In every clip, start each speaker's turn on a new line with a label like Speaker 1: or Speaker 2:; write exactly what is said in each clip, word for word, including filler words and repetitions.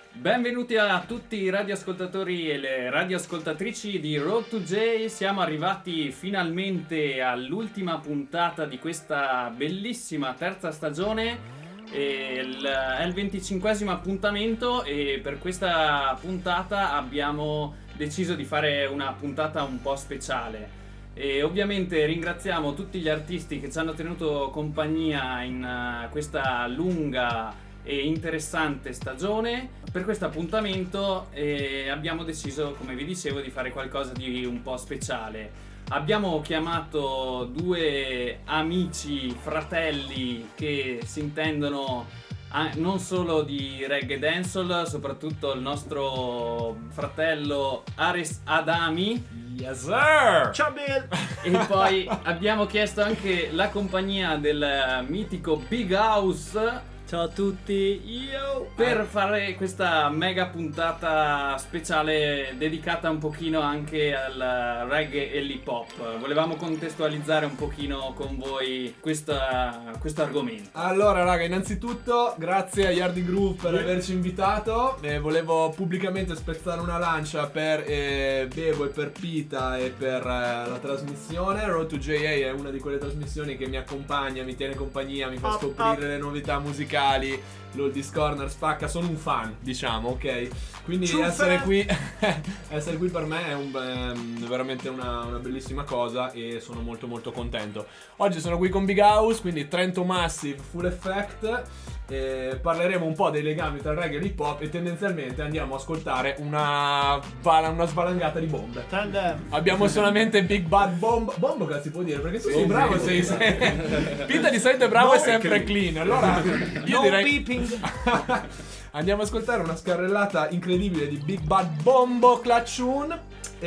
Speaker 1: Benvenuti a tutti i radioascoltatori e le radioascoltatrici di Road to J. Siamo arrivati finalmente all'ultima puntata di questa bellissima terza stagione. E il, è il venticinquesimo appuntamento e per questa puntata abbiamo deciso di fare una puntata un po' speciale. E ovviamente ringraziamo tutti gli artisti che ci hanno tenuto compagnia in uh, questa lunga e interessante stagione. Per questo appuntamento eh, abbiamo deciso, come vi dicevo, di fare qualcosa di un po' speciale. Abbiamo chiamato due amici, fratelli che si intendono ah, non solo di reggae dancehall, soprattutto il nostro fratello Ares Adami.
Speaker 2: Yes sir!
Speaker 3: Ciao Bill!
Speaker 1: E poi abbiamo chiesto anche la compagnia del mitico Big House.
Speaker 3: Ciao a tutti, io!
Speaker 1: Per fare questa mega puntata speciale dedicata un pochino anche al reggae e l'hip hop. Volevamo contestualizzare un pochino con voi questa, questo argomento.
Speaker 2: Allora raga, innanzitutto grazie a Yardi Group per averci invitato. eh, Volevo pubblicamente spezzare una lancia per eh, Bebo e per Pita e per eh, la trasmissione. Road to J A è una di quelle trasmissioni che mi accompagna, mi tiene compagnia, mi fa scoprire le novità musicali. L'Oldies Corner spacca, sono un fan, diciamo, ok? Quindi
Speaker 3: True
Speaker 2: essere
Speaker 3: fan.
Speaker 2: qui essere qui per me è un, è veramente una, una bellissima cosa e sono molto molto contento. Oggi sono qui con Big House, quindi Trento Massive Full Effect. E parleremo un po' dei legami tra il reggae e l'hip hop e tendenzialmente andiamo a ascoltare una, una svalangata di bombe.
Speaker 3: Tandem.
Speaker 2: Abbiamo solamente Big Bad Bomb. Bombo che si può dire, perché tu sei
Speaker 1: Sì,
Speaker 2: bravo,
Speaker 1: sì.
Speaker 2: sei, sei... Pita di solito è bravo
Speaker 3: No,
Speaker 2: e sempre clean. Allora io
Speaker 3: No
Speaker 2: direi
Speaker 3: beeping.
Speaker 2: andiamo a ascoltare una scarrellata incredibile di Big Bad Bombo Clutchun.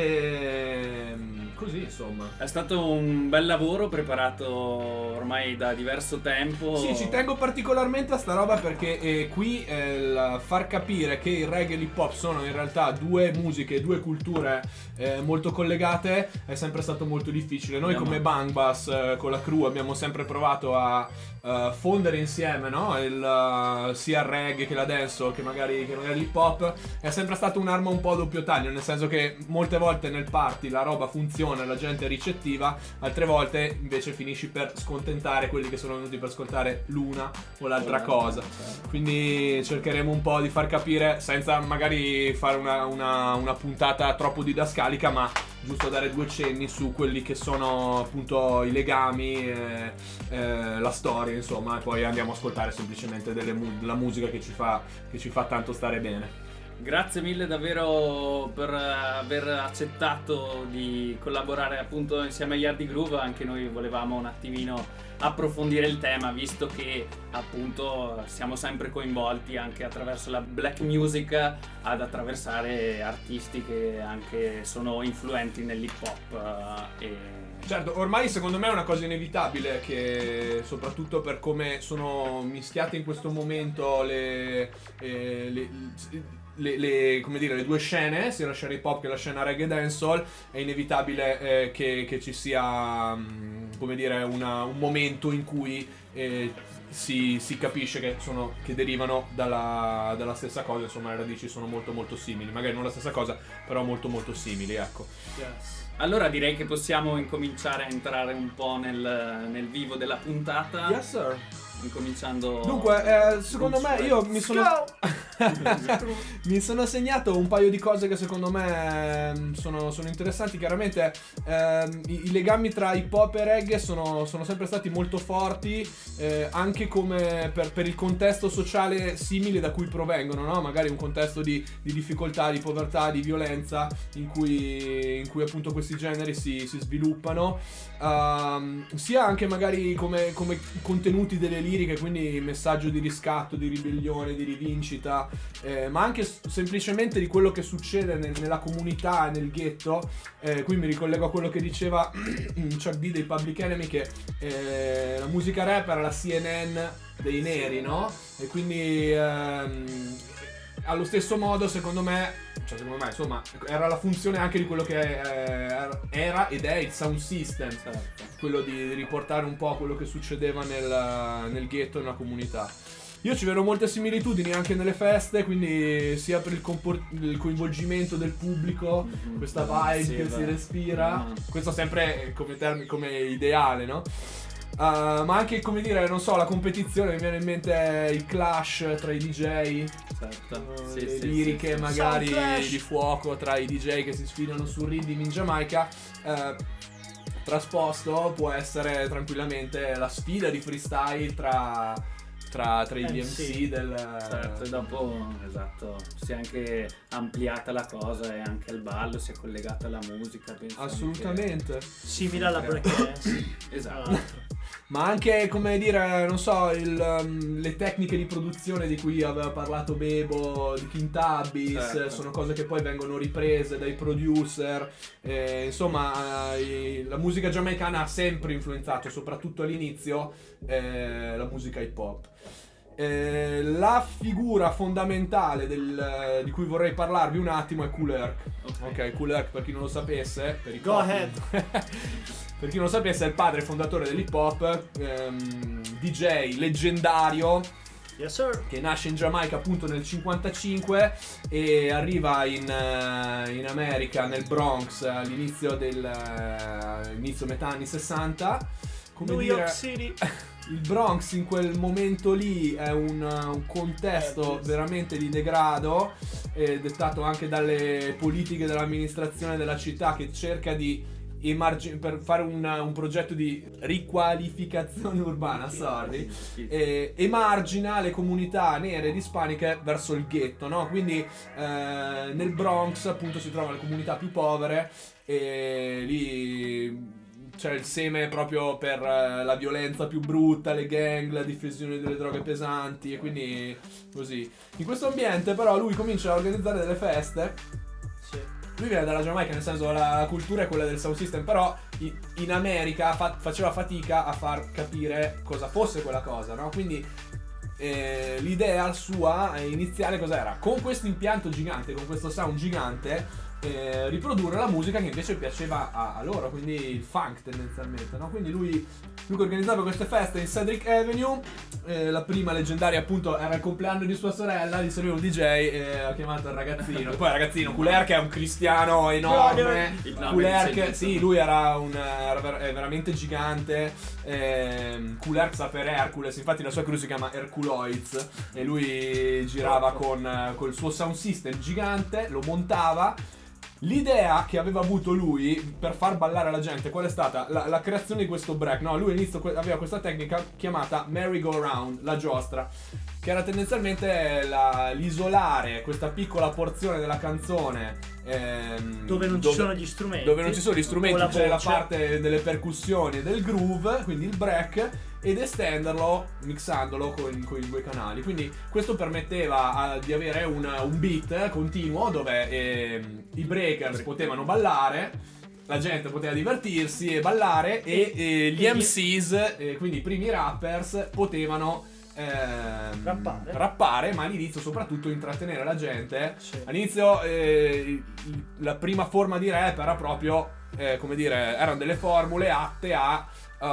Speaker 2: E così insomma.
Speaker 1: È stato un bel lavoro preparato ormai da diverso tempo.
Speaker 2: Sì, ci tengo particolarmente a sta roba perché eh, qui eh, il far capire che il reggae e l'hip hop sono in realtà due musiche, due culture eh, molto collegate è sempre stato molto difficile. Noi
Speaker 1: Abbiamo-
Speaker 2: come Bang Bus eh, con la crew abbiamo sempre provato a eh, fondere insieme, no? il, eh, sia il reggae che la dancehall che magari, che magari l'hip hop. È sempre stata un'arma un po' a doppio taglio, nel senso che molte volte nel party la roba funziona, la gente è ricettiva, altre volte invece finisci per scontentare quelli che sono venuti per ascoltare l'una o l'altra cosa. Quindi cercheremo un po' di far capire, senza magari fare una, una, una puntata troppo didascalica, ma giusto dare due cenni su quelli che sono appunto i legami, eh, eh, la storia, insomma, e poi andiamo a ascoltare semplicemente delle mu- della musica che ci fa, che ci fa tanto stare bene.
Speaker 1: Grazie mille davvero per aver accettato di collaborare appunto insieme a Yardi Groove. Anche noi volevamo un attimino approfondire il tema, visto che appunto siamo sempre coinvolti anche attraverso la black music ad attraversare artisti che anche sono influenti nell'hip hop eh, e
Speaker 2: Certo, ormai secondo me è una cosa inevitabile che soprattutto per come sono mischiate in questo momento le, eh, le, le, le, come dire, le due scene, sia la scena hip hop che la scena reggae dancehall, è inevitabile eh, che, che ci sia mh, come dire una, un momento in cui eh, si, si capisce che, sono, che derivano dalla, dalla stessa cosa, insomma le radici sono molto molto simili, magari non la stessa cosa, però molto molto simili, ecco.
Speaker 3: Yes.
Speaker 1: allora direi che possiamo incominciare a entrare un po' nel, nel vivo della puntata.
Speaker 2: Yes sir.
Speaker 1: Incominciando.
Speaker 2: Dunque, eh, secondo me io mi sono
Speaker 3: Go!
Speaker 2: mi sono segnato un paio di cose che secondo me ehm, sono, sono interessanti. Chiaramente ehm, i, i legami tra hip hop e reggae sono, sono sempre stati molto forti, eh, anche come per, per il contesto sociale simile da cui provengono, no? Magari un contesto di, di difficoltà, di povertà, di violenza in cui, in cui appunto questi generi si, si sviluppano, um, sia anche magari come, come contenuti delle liriche, quindi messaggio di riscatto, di ribellione, di rivincita, eh, ma anche s- semplicemente di quello che succede nel- nella comunità, nel ghetto. Eh, qui mi ricollego a quello che diceva Chuck D dei Public Enemy, che eh, la musica rap era la C N N dei neri, no? E quindi ehm, allo stesso modo, secondo me, cioè secondo me, insomma, era la funzione anche di quello che eh, era ed è il sound system, quello di riportare un po' quello che succedeva nel, nel ghetto, nella comunità. io ci vedo molte similitudini anche nelle feste, quindi sia per il, compor- il coinvolgimento del pubblico, mm-hmm. questa vibe sì, che beh. si respira, mm-hmm. questo sempre come, term- come ideale, no? Uh, ma anche, come dire, non so, la competizione, mi viene in mente il clash tra i D J,
Speaker 1: certo.
Speaker 2: uh,
Speaker 1: sì,
Speaker 2: le
Speaker 1: sì,
Speaker 2: liriche
Speaker 1: sì,
Speaker 2: magari di fuoco tra i D J che si sfidano sul rhythm in Giamaica. Uh, trasposto può essere tranquillamente la sfida di freestyle tra, tra, tra gli M C del...
Speaker 1: Certo, e dopo, esatto, si è anche ampliata la cosa e anche il ballo si è collegata alla musica, penso.
Speaker 2: Assolutamente.
Speaker 4: Anche... simile alla breakdance.
Speaker 1: Esatto.
Speaker 2: Ma anche, come dire, non so, il, um, le tecniche di produzione di cui aveva parlato Bebo, di Kintabis, certo. sono cose che poi vengono riprese dai producer. Eh, insomma, eh, la musica giamaicana ha sempre influenzato, soprattutto all'inizio, eh, la musica hip hop. Eh, la figura fondamentale del, di cui vorrei parlarvi un attimo è Kool Herc. Ok, okay Kool Herc, per chi non lo sapesse, per i
Speaker 4: Go
Speaker 2: copi,
Speaker 4: ahead.
Speaker 2: per chi non lo sapesse, è il padre fondatore dell'hip hop, ehm, D J leggendario.
Speaker 4: Yes, sir.
Speaker 2: Che nasce in Giamaica appunto nel cinquantacinque e arriva in, uh, in America, nel Bronx, all'inizio del uh, inizio metà anni sessanta. Come
Speaker 4: New
Speaker 2: dire,
Speaker 4: York City.
Speaker 2: Il Bronx in quel momento lì è un, un contesto
Speaker 4: eh,
Speaker 2: veramente di degrado, eh, dettato anche dalle politiche dell'amministrazione della città, che cerca di emargi- per fare un, un progetto di riqualificazione urbana, sorry, eh, emargina le comunità nere ed ispaniche verso il ghetto, no? Quindi eh, nel Bronx appunto si trovano le comunità più povere e lì c'è il seme proprio per uh, la violenza più brutta, le gang, la diffusione delle droghe pesanti e quindi così. In questo ambiente però lui comincia a organizzare delle feste.
Speaker 4: Sì.
Speaker 2: Lui viene dalla Giamaica, nel senso la cultura è quella del sound system, però in, in America fa- faceva fatica a far capire cosa fosse quella cosa, no? Quindi eh, l'idea sua iniziale cos'era? Con questo impianto gigante, con questo sound gigante, Eh, riprodurre la musica che invece piaceva a, a loro, quindi il funk tendenzialmente, no? Quindi lui, lui organizzava queste feste in Cedric Avenue, eh, la prima leggendaria appunto era il compleanno di sua sorella, di lui un D J e ha chiamato il ragazzino, poi il ragazzino Kool Herc è un cristiano enorme, Kool Herc, sì, lui era un era ver- è veramente gigante, eh, Kool Herc sa per Hercules, infatti la sua crew si chiama Herculoids e lui girava con col suo sound system gigante, lo montava. L'idea che aveva avuto lui per far ballare la gente, qual è stata? La, la creazione di questo break, no? Lui all'inizio que- aveva questa tecnica chiamata merry-go-round, la giostra, che era tendenzialmente la, l'isolare questa piccola porzione della canzone ehm,
Speaker 4: dove non
Speaker 2: dove,
Speaker 4: ci sono gli strumenti,
Speaker 2: dove non ci sono gli strumenti,
Speaker 4: la
Speaker 2: c'è la
Speaker 4: voce.
Speaker 2: parte delle percussioni e del groove, quindi il break, ed estenderlo mixandolo con, con i due canali. Quindi questo permetteva a, di avere un, un beat continuo dove eh, i breakers potevano ballare, la gente poteva divertirsi e ballare e, e gli M Cs, eh, quindi i primi rappers, potevano ehm,
Speaker 4: rappare.
Speaker 2: rappare, ma all'inizio soprattutto intrattenere la gente.
Speaker 4: Sì.
Speaker 2: All'inizio eh, la prima forma di rap era proprio, eh, come dire, erano delle formule atte a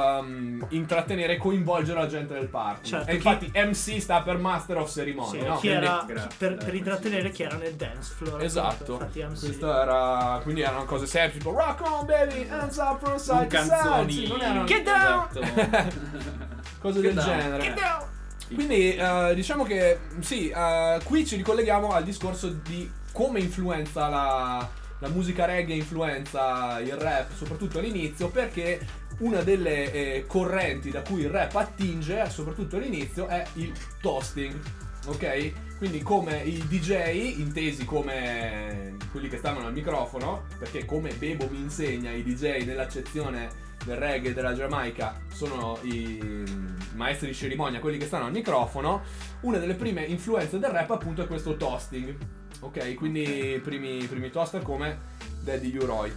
Speaker 2: Um, intrattenere e coinvolgere la gente del party.
Speaker 4: Certo,
Speaker 2: e infatti
Speaker 4: chi...
Speaker 2: M C sta per Master of Ceremony,
Speaker 4: sì,
Speaker 2: no?
Speaker 4: chi
Speaker 2: Quindi,
Speaker 4: era
Speaker 1: grazie,
Speaker 4: per,
Speaker 1: dai,
Speaker 4: per intrattenere chi era nel dance floor.
Speaker 2: esatto.
Speaker 4: Infatti, M C.
Speaker 2: Questo era, quindi erano cose semplici, tipo rock on baby, hands up from side to side.
Speaker 1: Canzoni,
Speaker 2: Sì, non erano
Speaker 4: Get down!
Speaker 1: Esatto.
Speaker 2: cose
Speaker 1: Get
Speaker 2: del
Speaker 1: down.
Speaker 2: genere.
Speaker 4: Get down!
Speaker 2: Quindi uh, diciamo che sì, uh, qui ci ricolleghiamo al discorso di come influenza la, la musica reggae, influenza il rap, soprattutto all'inizio, perché una delle eh, correnti da cui il rap attinge, soprattutto all'inizio, è il toasting, ok? Quindi come i D J, intesi come quelli che stavano al microfono, perché come Bebo mi insegna, i D J nell'accezione del reggae della Giamaica sono i maestri di cerimonia, quelli che stanno al microfono. Una delle prime influenze del rap appunto è questo toasting, ok? Quindi i primi, primi toaster come Daddy U-Roy.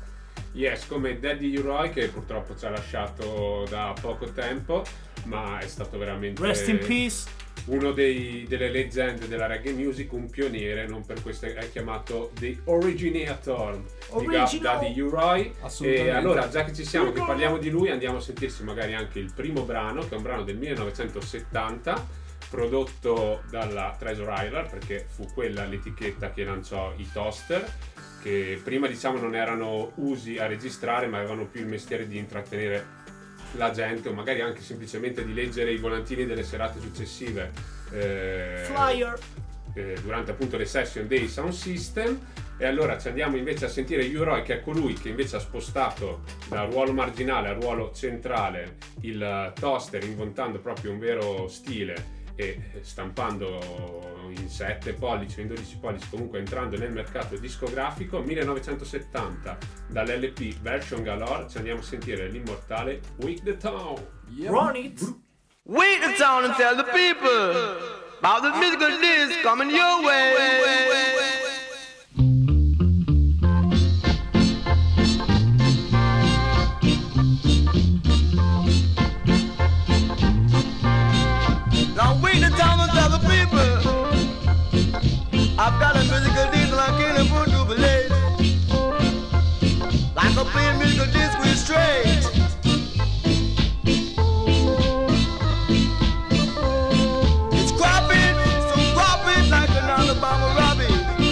Speaker 5: Yes, come Daddy U-Roy, che purtroppo ci ha lasciato da poco tempo, ma è stato veramente
Speaker 4: Rest in peace.
Speaker 5: uno dei, delle leggende della reggae music, un pioniere, non per questo è chiamato The Originator di Ga- Daddy U-Roy. E allora, già che ci siamo, che parliamo di lui, andiamo a sentirsi magari anche il primo brano, che è un brano del millenovecentosettanta, prodotto dalla Treasure Island, perché fu quella l'etichetta che lanciò i toaster, che prima diciamo non erano usi a registrare, ma avevano più il mestiere di intrattenere la gente, o magari anche semplicemente di leggere i volantini delle serate successive eh,
Speaker 4: Flyer
Speaker 5: eh, durante appunto le session dei sound system. E allora ci andiamo invece a sentire U-Roy, che è colui che invece ha spostato dal ruolo marginale al ruolo centrale il toaster, inventando proprio un vero stile e stampando in sette pollici o in dodici pollici, comunque entrando nel mercato discografico. millenovecentosettanta, dall'L P Version Galore, ci andiamo a sentire l'immortale Wake the Town.
Speaker 2: Yep.
Speaker 4: Run it.
Speaker 6: Wake the town and tell the people about the musical disc coming your way. Now wake the town and tell the people I've got a musical disc like any food to believe, like a plain musical disc with straight. It's cropping, so cropping like an Alabama rabbit.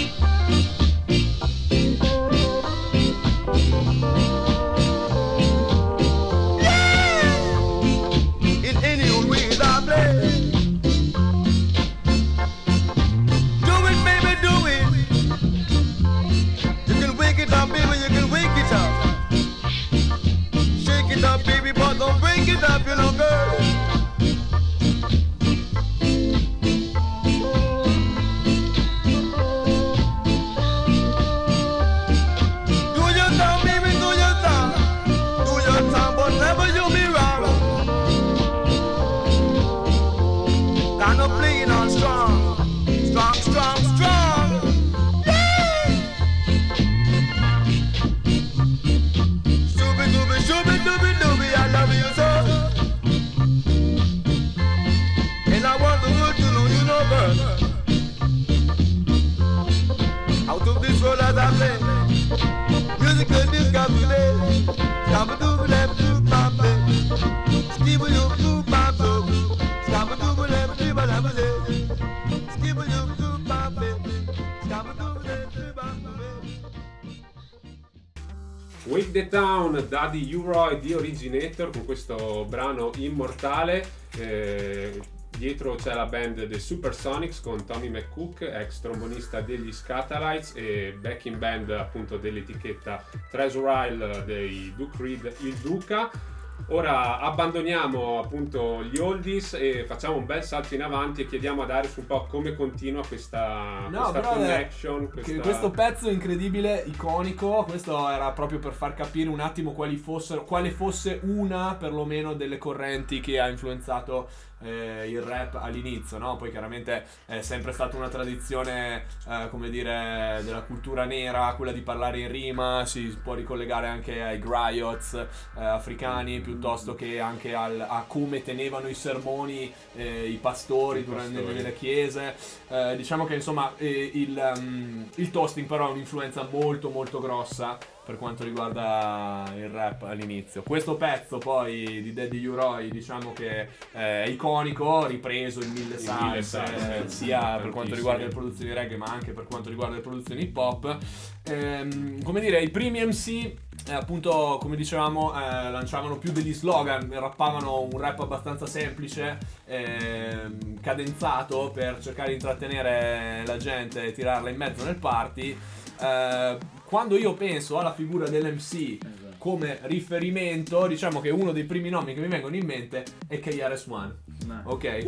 Speaker 6: Yeah! In any old way I play. Don't break it up, you know, girl. Do your time, baby, do your time. Do your time, but never you be wrong. Kind of playing on strong, strong, strong, strong. Yeah! Shooby, dooby, shooby, dooby, dooby. I love you so, and I want the world to know you know, girl. Out of this world as I play, musical disc got today. Scabba dooby left to my play. Skibba you to my soul. Scabba dooby left to my play. Skibba you to my play. Scabba dooby left to my play.
Speaker 5: Wake the Town, Daddy U-Roy di Originator, con questo brano immortale. Eh, dietro c'è la band The Supersonics con Tommy McCook, ex trombonista degli Scatalites, e backing band appunto dell'etichetta Treasure Isle dei Duke Reed, il Duca. Ora abbandoniamo appunto gli oldies e facciamo un bel salto in avanti e chiediamo ad Darius un po' come continua questa,
Speaker 2: No,
Speaker 5: questa
Speaker 2: però
Speaker 5: connection. Questa...
Speaker 2: Che questo pezzo incredibile, iconico, questo era proprio per far capire un attimo quali fossero, quale fosse una perlomeno delle correnti che ha influenzato eh, il rap all'inizio, no? Poi chiaramente è sempre stata una tradizione, eh, come dire, della cultura nera, quella di parlare in rima, si può ricollegare anche ai griots eh, africani, piuttosto che anche al, a come tenevano i sermoni eh, i pastori durante le chiese. Eh, diciamo che insomma eh, il, um, il toasting però ha un'influenza molto molto grossa per quanto riguarda il rap all'inizio. Questo pezzo poi di Daddy U-Roy, diciamo che è iconico, ripreso in mille salse, eh, sia per quanto riguarda le produzioni reggae ma anche per quanto riguarda le produzioni hip hop. Ehm, come dire, i primi M C eh, appunto, come dicevamo, eh, lanciavano più degli slogan, rappavano un rap abbastanza semplice, ehm, cadenzato, per cercare di intrattenere la gente e tirarla in mezzo nel party. Eh, quando io penso alla figura dell'M C come riferimento, diciamo che uno dei primi nomi che mi vengono in mente è K R S One. Ok,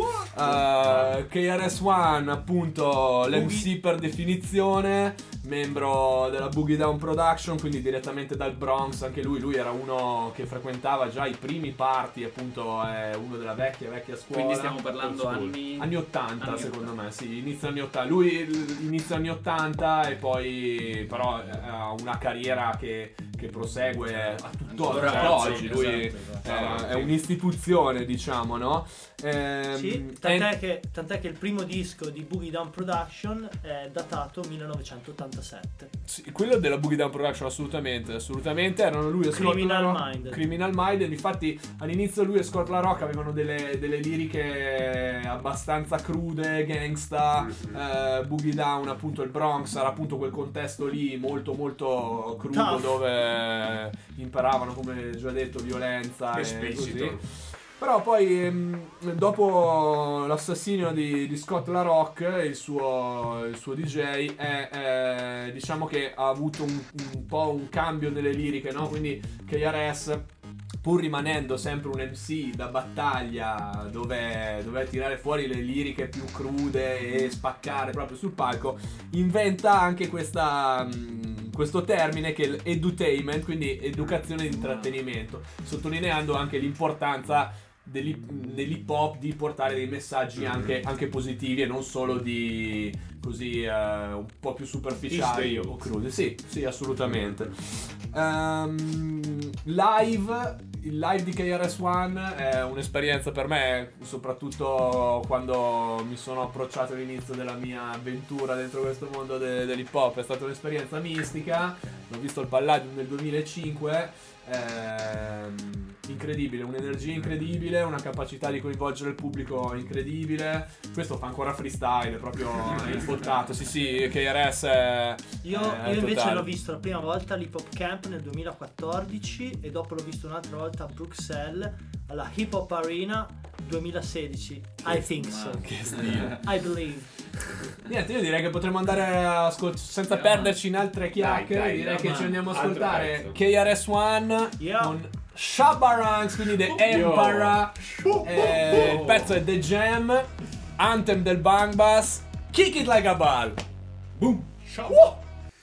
Speaker 2: uh, K R S One appunto l'M C per definizione, membro della Boogie Down Production, quindi direttamente dal Bronx. Anche lui, lui era uno che frequentava già i primi party, appunto è uno della vecchia vecchia scuola.
Speaker 1: Quindi stiamo parlando anni
Speaker 2: anni ottanta,
Speaker 1: anni
Speaker 2: secondo
Speaker 1: ottanta.
Speaker 2: me, sì, inizio anni ottanta. Lui inizio anni ottanta e poi però ha una carriera che che prosegue a tuttora,
Speaker 1: Ancora
Speaker 2: oggi,
Speaker 1: oggi,
Speaker 2: lui
Speaker 1: esatto,
Speaker 2: eh,
Speaker 1: esatto.
Speaker 2: è un'istituzione, diciamo, no? Ehm,
Speaker 4: Sì, tant'è, che, tant'è che il primo disco di Boogie Down Production è datato millenovecentottantasette.
Speaker 2: Sì, quello della Boogie Down Production, assolutamente, assolutamente. Erano lui e Scott
Speaker 4: Criminal
Speaker 2: La Rock-
Speaker 4: Minded.
Speaker 2: Criminal Minded. Infatti, all'inizio lui e Scott La Rock avevano delle, delle liriche abbastanza crude, gangsta.
Speaker 5: Mhm.
Speaker 2: eh, Boogie Down, appunto, il Bronx era appunto quel contesto lì molto, molto crudo,
Speaker 4: Tough.
Speaker 2: dove imparavano, come già detto, violenza e
Speaker 5: Esplicito.
Speaker 2: così. Però poi ehm, dopo l'assassinio di, di Scott La Rock, il suo, il suo D J, è, è- diciamo che ha avuto un, un po' un cambio nelle liriche, no? Quindi K R S, pur rimanendo sempre un M C da battaglia dove doveva tirare fuori le liriche più crude e spaccare proprio sul palco, inventa anche questa, mh, questo termine che è l'edutainment, quindi educazione di intrattenimento, sottolineando anche l'importanza dell'hip, dell'hip hop di portare dei messaggi anche, anche positivi e non solo di così eh, un po' più superficiali
Speaker 5: Teach the
Speaker 2: o
Speaker 5: youth.
Speaker 2: crude. Sì, sì, assolutamente. Ehm, live, il live di K R S One è un'esperienza per me, soprattutto quando mi sono approcciato all'inizio della mia avventura dentro questo mondo de- dell'hip hop. È stata un'esperienza mistica. L'ho visto al Palladium nel duemilacinque. Ehm, incredibile, un'energia incredibile, una capacità di coinvolgere il pubblico incredibile. Questo fa ancora freestyle, proprio infottato. Sì, sì, K R S è,
Speaker 4: Io,
Speaker 2: è
Speaker 4: io invece
Speaker 2: totale.
Speaker 4: l'ho visto la prima volta all'Hip Hop Camp nel duemilaquattordici e dopo l'ho visto un'altra volta a Bruxelles alla Hip Hop Arena duemilasedici. I think so.
Speaker 2: Che stile.
Speaker 4: I believe.
Speaker 2: Niente, io direi che potremmo andare a ascol- senza
Speaker 1: Andiamo.
Speaker 2: perderci in altre chiacchiere.
Speaker 5: Dai, dai,
Speaker 2: direi che
Speaker 1: andiamo.
Speaker 2: ci andiamo a
Speaker 5: Altro
Speaker 2: ascoltare
Speaker 5: pezzo.
Speaker 2: K R S One
Speaker 4: Yeah.
Speaker 2: con Shabba Ranks, quindi The Emperor. Eh, il pezzo è The Jam, Anthem del Bang Bass, Kick It Like a Ball. Boom. Woo!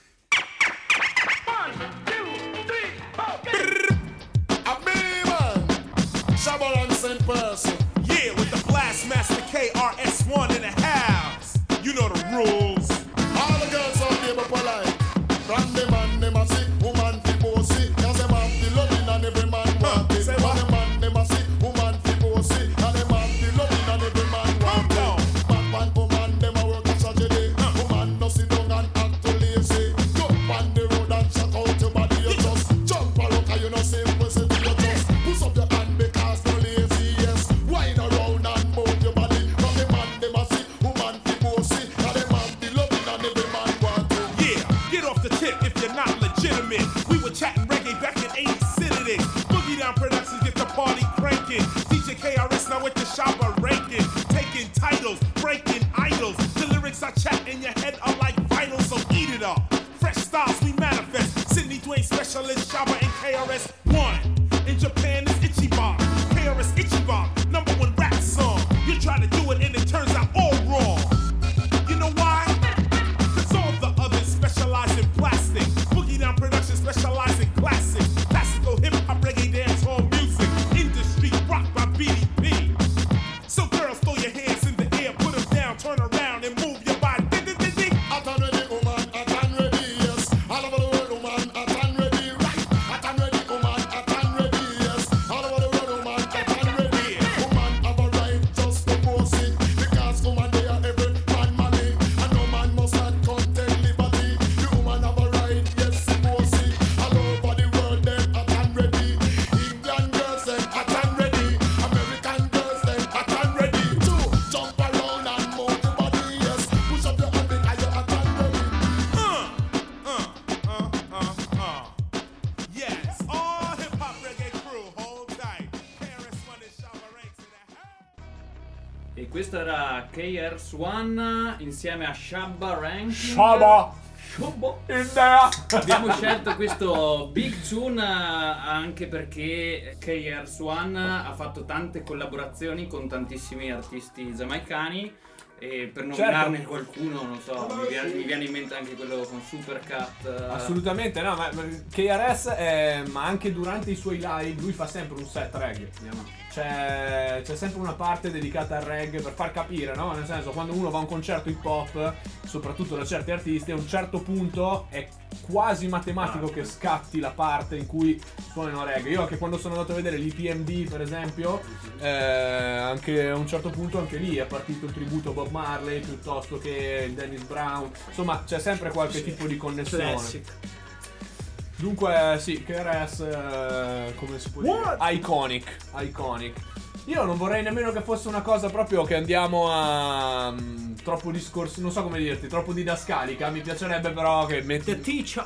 Speaker 7: A me man, Shabba Ranks in person. Yeah, with the Blastmaster K R S One in the house. You know the rules. All the girls out there but polite. From the man them a see, woman fi bossy. Cause them have the loving and every man want it. From the man them a see, woman fi bossy. And them have the loving and every man want it. Man man woman them a work a Saturday. Woman no sit down and act too lazy. Jump on the road and shout out your body. You just jump around 'cause you know simple city. You just push up your hand because no lazy. Yes, wind around and move your body. From the man them a see, woman fi bossy. And them have the loving and every man want it.
Speaker 8: Yeah, get off the tip if you're not legitimate. We were chatting reggae back in eighty City. Boogie Down Productions get the party cranking. D J K R S now with the Shabba ranking. Taking titles, breaking idols. The lyrics I chat in your head are like vinyl, so eat it up. Fresh styles we manifest. Sydney Dwayne specialist, Shabba and K R S One. In Japan it's Ichiban. K R S Ichiban, number one rap song. You try to do it and it turns out all wrong. You know why? Cause all the others specialize in plastic. Boogie Down Productions specialize in classics. Classical hip hop, reggae, dance hall music. Industry rocked by B D P. So girls, throw your hands in the air, put them down, turn around and move your body. Ding, ding, ding, ding.
Speaker 7: Hot and ready, woman, hot and ready, yes. All over the world, woman, hot and ready, right? Hot and ready, woman, hot and ready, yes. All over the world, woman, hot and ready. Woman have a right just to post it. Because woman, they are every man money. And no man must not contain liberty. The woman have a right, yes, to post it. All over the world, them hot and ready. England girls, them hot and ready. American girls, them hot and ready. Too, jump around and move your body, yes. Push up your hand because you're hot and ready.
Speaker 8: Uh, uh, uh, uh, uh. Yes, all hip hop reggae crew, hold tight. K R S One and Shabba Ranks in the house.
Speaker 1: E questo era K R S One insieme a Shabba Ranking.
Speaker 2: Shabba
Speaker 1: Shabba.
Speaker 2: in there.
Speaker 1: Abbiamo scelto questo Big Tune eh, anche perché K R S One ha fatto tante collaborazioni con tantissimi artisti giamaicani. E per nominarne
Speaker 2: Certo.
Speaker 1: qualcuno, non so, mi viene, mi viene in mente anche quello con Supercat. eh.
Speaker 2: Assolutamente no, ma ma K R S è, ma anche durante i suoi live lui fa sempre un set reggae. c'è, c'è sempre una parte dedicata al reggae per far capire, no? Nel senso, quando uno va a un concerto hip hop, soprattutto da certi artisti, a un certo punto è quasi matematico che scatti la parte in cui suonano reggae. Io anche quando sono andato a vedere l'I P M D, per esempio, eh, anche a un certo punto anche lì è partito il tributo a Bob Marley piuttosto che il Dennis Brown. Insomma, c'è sempre qualche sì. tipo di connessione. Classic. Dunque sì, K R S eh, come si può What? dire? Iconic, iconic. Io non vorrei nemmeno che fosse una cosa proprio che andiamo a um, troppo discorso, non so come dirti, troppo didascalica. Mi piacerebbe però che metti
Speaker 4: The teacher.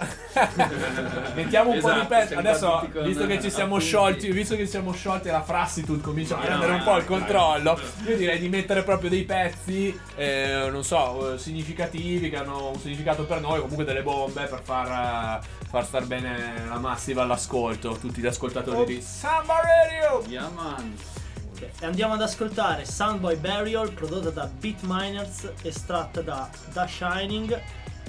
Speaker 2: mettiamo un
Speaker 1: esatto,
Speaker 2: po' di pezzi. Adesso, visto che ci siamo appunti. sciolti, visto che ci siamo sciolti e la Frassitude comincia no, a prendere no, un po' no, il controllo, no. io direi di mettere proprio dei pezzi, eh, non so, significativi, che hanno un significato per noi, comunque delle bombe per far, far star bene la massiva all'ascolto, tutti gli ascoltatori oh. di Samba Radio.
Speaker 1: Yeah, man.
Speaker 4: E andiamo ad ascoltare Soundboy Burial, prodotta da Beat Miners, estratta da The Shining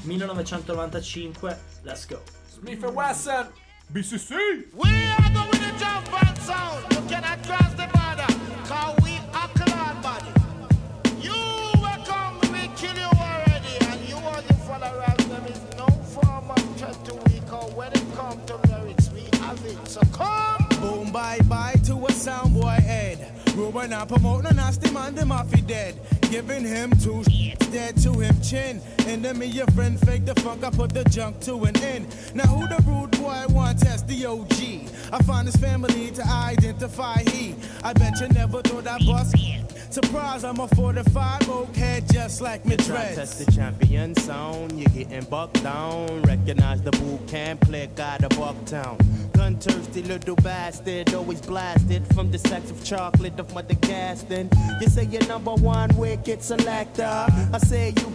Speaker 4: millenovecentonovantacinque. Let's go.
Speaker 2: Smith and Wesson, B C C.
Speaker 7: We are going to jump and sound. You cannot cross the border, cause we are cloud body. You will come, we kill you already, and you want to follow us. There is no form of threat to we call when it comes to lyrics, we have it. So come.
Speaker 9: Boom, bye bye to a soundboy head. Ruben and promote no nasty man, them off he dead. Giving him two dead to him chin. And then me your friend fake the funk, I put the junk to an end. Now who the rude boy want test the O G? I find his family to identify he. I bet you never thought I bust. Surprise, I'm a forty-five oak head just like me dreads.
Speaker 10: Test the champion sound, you're getting bucked down. Recognize the boot camp, click out of Bucktown. Gun thirsty little bastard, always blasted from the sacks of chocolate of Mother Gaston. You say you're number one wicked selector. I say you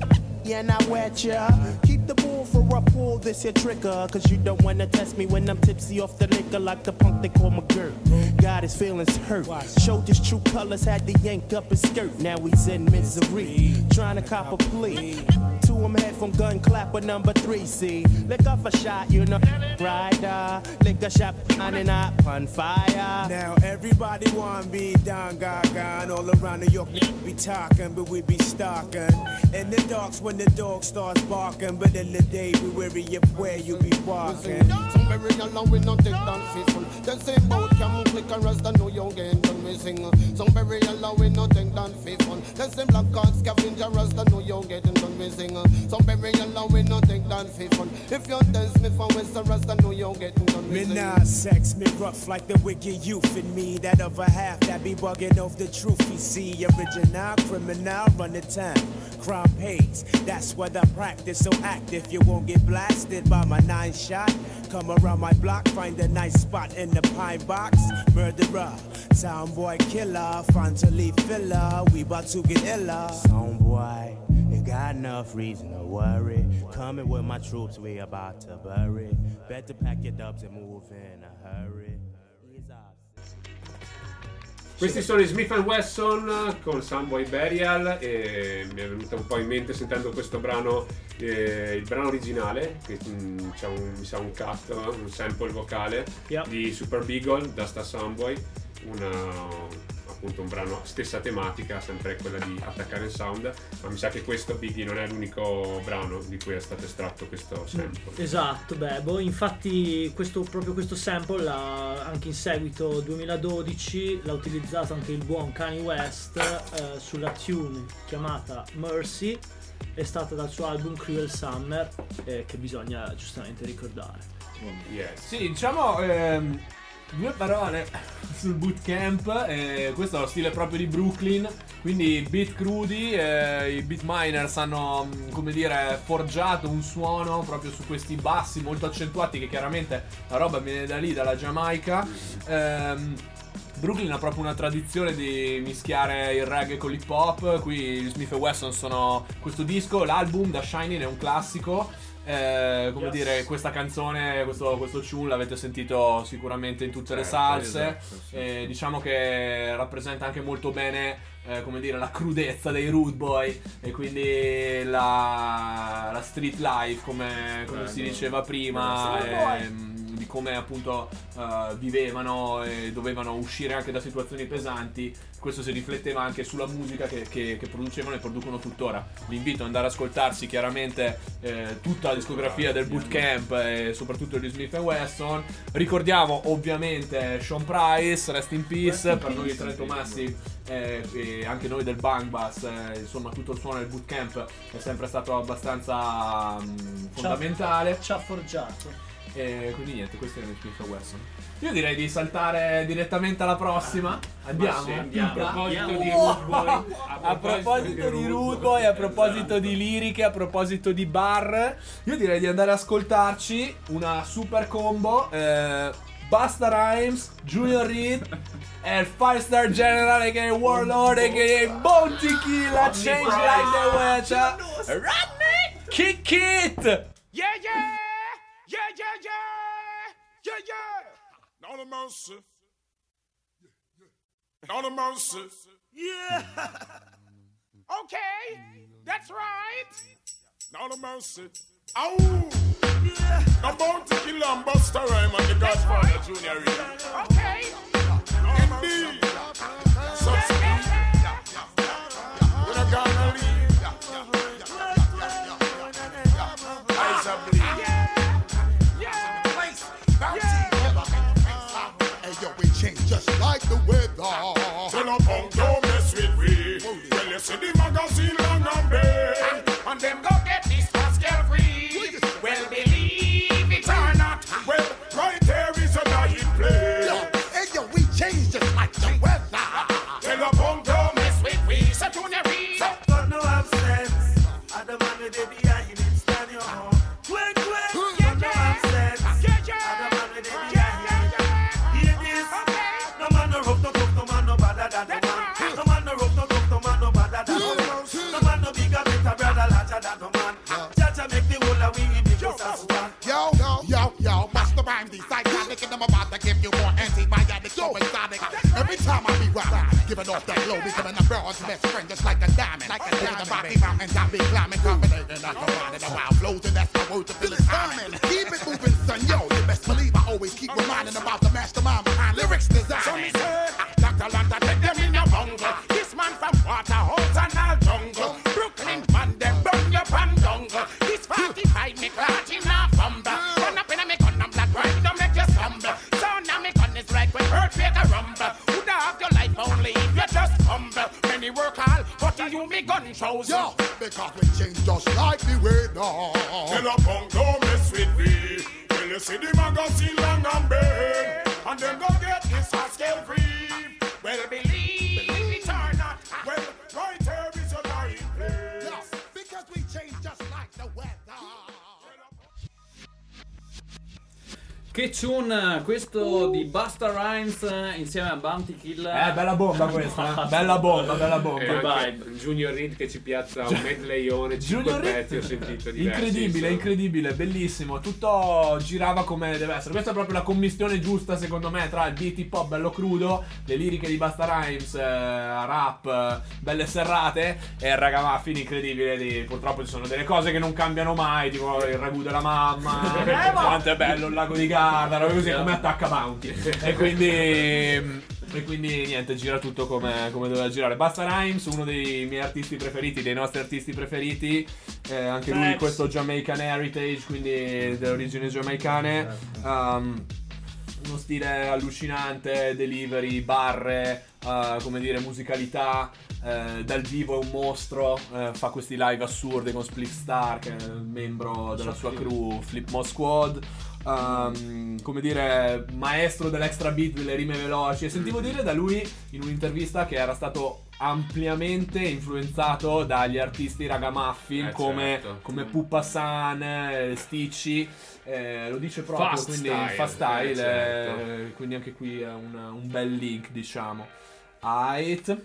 Speaker 10: and I wet ya. Keep the bull for a pull, this your trigger. Cause you don't wanna test me when I'm tipsy off the liquor like the punk they call McGirt. Got his feelings hurt. Showed his true colors, had to yank up his skirt. Now he's in misery, trying to cop a plea. To him head from gun clapper number three, see. Lick off a shot, you know, rider. Lick a shot, and up on fire.
Speaker 9: Now everybody wanna be down, gaga. And all around New York, be talking, but we be stalking. In the darks when the dog starts barking. But in the day, we weary of where you be walking.
Speaker 6: Some very along with no take down faithful. Then say bout camel click and rest and know you get done we sing. Some very along with no take down faithful. Then say black card scavenger rest and know you get done we sing. Some very along with no take down faithful. If you're dance me from west and rest and know you get done we sing.
Speaker 9: Me nah sex, me rough like the wicked youth in me. That other half that be bugging off the truth you see. Original criminal run the town. Crime pays, that's what I practice. So active, you won't get blasted by my nine shot. Come around my block, find a nice spot in the pine box. Murderer, soundboy killer, fun to leave filler. We bout to get iller.
Speaker 10: Soundboy, you got enough reason to worry. Coming with my troops, we about to bury. Better pack your dubs and move in a hurry. Ease off.
Speaker 5: Questi sono i Smith and Wesson con Soundboy Burial e mi è venuto un po' in mente sentendo questo brano, eh, il brano originale, che mh, c'è un, mi sa un cut, un sample vocale
Speaker 4: yep.
Speaker 5: di Super Beagle da sta Soundboy, una, appunto un brano stessa tematica, sempre quella di attaccare il sound, ma mi sa che questo Biggie non è l'unico brano di cui è stato estratto questo sample.
Speaker 4: Esatto, beh, boh, infatti questo, proprio questo sample l'ha, anche in seguito duemiladodici l'ha utilizzato anche il buon Kanye West eh, sulla tune chiamata Mercy, è stata dal suo album Cruel Summer, eh, che bisogna giustamente ricordare.
Speaker 5: Yes.
Speaker 2: Sì, diciamo ehm, due parole sul bootcamp, eh, questo è lo stile proprio di Brooklyn, quindi beat crudi, eh, i beat miners hanno, come dire, forgiato un suono proprio su questi bassi molto accentuati, che chiaramente la roba viene da lì, dalla Giamaica. ehm, Brooklyn ha proprio una tradizione di mischiare il reggae con l'hip hop. Qui gli Smith and Wesson sono questo disco, l'album The Shining è un classico. Eh, come
Speaker 1: Yes.
Speaker 2: dire, questa canzone, questo, questo tune l'avete sentito sicuramente in tutte le
Speaker 5: Certo,
Speaker 2: salse.
Speaker 1: esatto, sì,
Speaker 2: Eh, diciamo che rappresenta anche molto bene eh, come dire, la crudezza dei Rude Boy e quindi la, la street life, come, come
Speaker 1: Eh,
Speaker 2: si
Speaker 1: no.
Speaker 2: diceva prima,
Speaker 4: Rude
Speaker 2: ehm, di come appunto eh, vivevano e dovevano uscire anche da situazioni pesanti. Questo si rifletteva anche sulla musica che, che, che producevano e producono tuttora. Vi invito ad andare ad ascoltarsi chiaramente eh, tutta la discografia del Bootcamp e soprattutto di Smith and Wesson. Ricordiamo ovviamente Sean Price, Rest in Peace, per noi tre Tomassi eh, e anche noi del Bang Bus, eh, insomma tutto il suono del Bootcamp è sempre stato abbastanza mh, fondamentale.
Speaker 4: Ci ha forgiato.
Speaker 2: E quindi niente, questo è il Smith and Wesson. Io direi di saltare direttamente alla prossima. Andiamo.
Speaker 1: sì, andiamo.
Speaker 5: A proposito
Speaker 1: Andiamo.
Speaker 5: di Rude Boy,
Speaker 2: A proposito di Rude Boy, a proposito di liriche, a proposito di bar, io direi di andare ad ascoltarci una super combo. Eh, Busta Rhymes, Junior Reed e il five star General che è Warlord che è Bounty Killer, Change Like the Weather, Rodney, Kick It!
Speaker 8: Yeah, yeah! Yeah, yeah, yeah! Yeah, yeah! Lord of mercy. Lord of mercy. Yeah! Okay, that's right. Lord of mercy. Ow! Yeah! I'm about to kill and Busta Rhymes and the Godfather Junior Reed. Okay! Indeed! So, we're not gonna leave. Eyes are bleeding.
Speaker 7: Yo, we change just like the weather.
Speaker 8: Tell a punk don't mess with me. Well, you see the magazine long and big, and them go get this Pascal free. Well, believe it or not, well, right there is a dying place.
Speaker 7: Yo, hey, yo, we change just like the weather.
Speaker 8: Tell a punk don't mess with me. So to the read.
Speaker 11: Got no absence. I the man with the behind it, stand your home. Quick, quick, got no absence.
Speaker 8: Yeah, yeah.
Speaker 11: I the man with the behind it. Hear this? No man no rough, no tough, no man no badder than the man. No man no rough, no tough, no man no badder than the man. No man no bigger, better, brother, larger than the man. Jaja make the whole of we in the just as one.
Speaker 7: Yo, yo, yo, Busta Rhymes, the psychotic, and I'm about to give you more antibiotics, so exotic. Every time I be rhyming, giving off that glow, becoming a bird's best friend, just like a diamond. Like a diamond, Rocky Mountains, I be climbing, combinating, I combine the wild flows, and that's my word to fill it timing. Keep it moving, son, yo, you best believe I always keep reminding about the mastermind behind lyrics design.
Speaker 8: Doctor Lanta, take them in your bungle. This man from Waterhouse and all jungle. Brooklyn man, them burn your pan jungle. This forty-five me clot in a fumble. Run up in a me gun and black right, don't make you stumble. So now me gun is right when earthquake a rumble. Woulda have your life only if you just humble. Many work hard, but to you me gun shows.
Speaker 7: Yo, because we change just like the weather.
Speaker 8: Tell a punk don't mess with me. When you see the magazine long and big, and then go get this Pascal free. Well, believe it or not, well, right here is a dying place.
Speaker 7: Yo, because we change just like the weather.
Speaker 1: Che tune questo di Busta Rhymes insieme a Bounty Killer.
Speaker 2: Eh, bella bomba questa, eh. Bella bomba, bella bomba.
Speaker 5: E
Speaker 1: Che
Speaker 5: anche
Speaker 1: vibe.
Speaker 5: Junior Reed che ci piazza un medleyone, cinque
Speaker 2: Junior Reed,
Speaker 5: pezzi ho sentito diversi.
Speaker 2: incredibile,
Speaker 5: insomma.
Speaker 2: incredibile, bellissimo. Tutto girava come deve essere. Questa è proprio la commistione giusta, secondo me, tra il beat hip hop bello crudo, le liriche di Busta Rhymes, eh, rap, eh, belle serrate, e il ragamuffin incredibile. Di, purtroppo ci sono delle cose che non cambiano mai, tipo il ragù della mamma, quanto è bello il lago di Garda, robe così, come attacca Bounty. E quindi. E quindi niente, gira tutto come, come doveva girare. Busta Rhymes, uno dei miei artisti preferiti, dei nostri artisti preferiti, eh, anche lui
Speaker 4: Facts.
Speaker 2: questo Jamaican heritage, quindi delle origini giamaicane. Um, uno stile allucinante, delivery, barre, uh, come dire, musicalità. Eh, dal vivo è un mostro, eh, fa questi live assurdi con Split Star, che è il membro della sua crew, Flip Mo Squad. Um, come dire, maestro dell'extra beat, delle rime veloci. E sentivo dire da lui in un'intervista che era stato ampiamente influenzato dagli artisti ragamuffin,
Speaker 5: Eh,
Speaker 2: come,
Speaker 5: certo.
Speaker 2: come Puppa San, eh, Stitchy, eh, lo dice proprio,
Speaker 5: Fast
Speaker 2: quindi
Speaker 5: style,
Speaker 2: fast style,
Speaker 5: eh, certo.
Speaker 2: eh, quindi anche qui è un, un bel link, diciamo. Aight.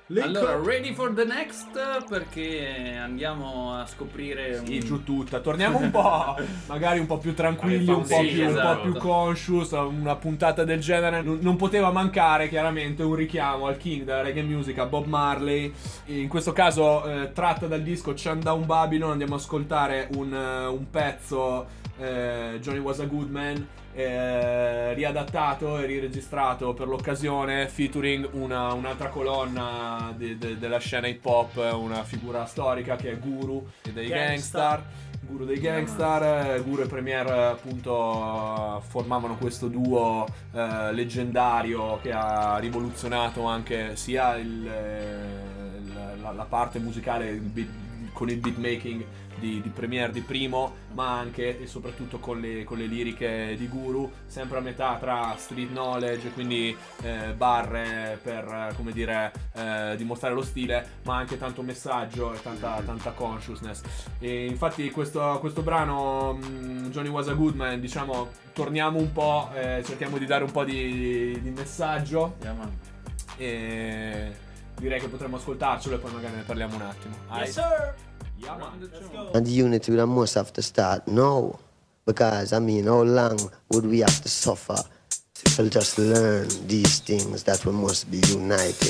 Speaker 1: Allora, ready for the next, perché andiamo a scoprire
Speaker 2: Sì,
Speaker 1: un...
Speaker 2: giù tutta. Torniamo un po', magari un po' più tranquilli, un po'
Speaker 1: Sì,
Speaker 2: più,
Speaker 1: esatto.
Speaker 2: un po' più conscious. Una puntata del genere non, non poteva mancare chiaramente un richiamo al king della reggae music, a Bob Marley. In questo caso eh, tratta dal disco Chandown Babylon. Andiamo ad ascoltare un, uh, un pezzo, eh, Johnny Was a Good Man, Eh, riadattato e riregistrato per l'occasione, featuring una, un'altra colonna de, de, della scena hip hop, una figura storica che è Guru dei Gangstar. Guru dei Gangstar, Guru e Premier appunto formavano questo duo eh, leggendario che ha rivoluzionato anche sia il, il, la, la parte musicale il beat, con il beatmaking Di, di Premier di Primo, ma anche e soprattutto con le, con le liriche di Guru, sempre a metà tra street knowledge, quindi eh, barre per eh, come dire eh, dimostrare lo stile, ma anche tanto messaggio e tanta, tanta consciousness. E infatti questo, questo brano mh, Johnny Was a Good Man, diciamo, torniamo un po', eh, cerchiamo di dare un po' di, di messaggio,
Speaker 1: Yeah,
Speaker 2: e direi che potremmo ascoltarcelo e poi magari ne parliamo un attimo.
Speaker 4: Yes, sir.
Speaker 2: Yeah, man.
Speaker 4: Let's go.
Speaker 12: And the unity we must have to start now. Because, I mean, how long would we have to suffer to just learn these things that we must be united?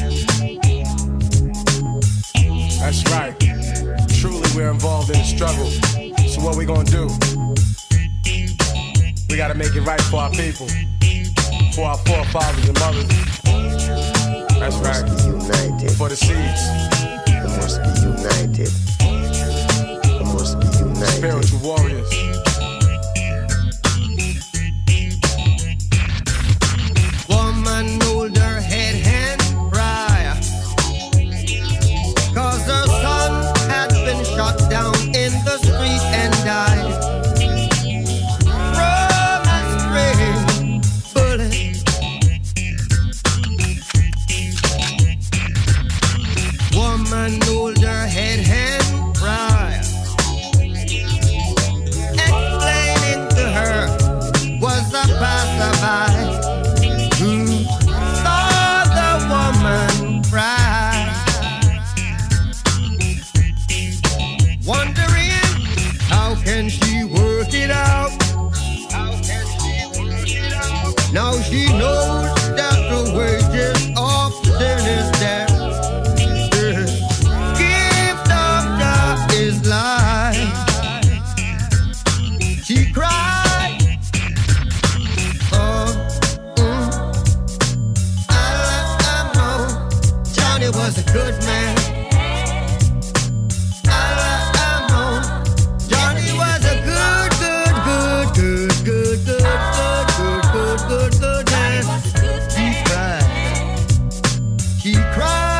Speaker 9: That's right. Truly, we're involved in the struggle. So what we gonna do? We gotta make it right for our people, for our forefathers and mothers. That's right.
Speaker 12: Be united.
Speaker 9: For the seeds.
Speaker 12: We must be united. We must be united.
Speaker 9: Spiritual warriors.
Speaker 6: Woman hold her head and cry, 'cause her son had been shot down in the street and died from a stray bullet. Woman hold her head and cry, explaining to her was a passerby who saw the woman cry, wondering how can she work it out. How can she work it out? Now she knows that the wages of sin is death. Gift of God is life. She cried. Oh. Johnny was a good man. I know Johnny was a good, good, good, good, good, good, good, good, good, good, good man. He cried. He cried.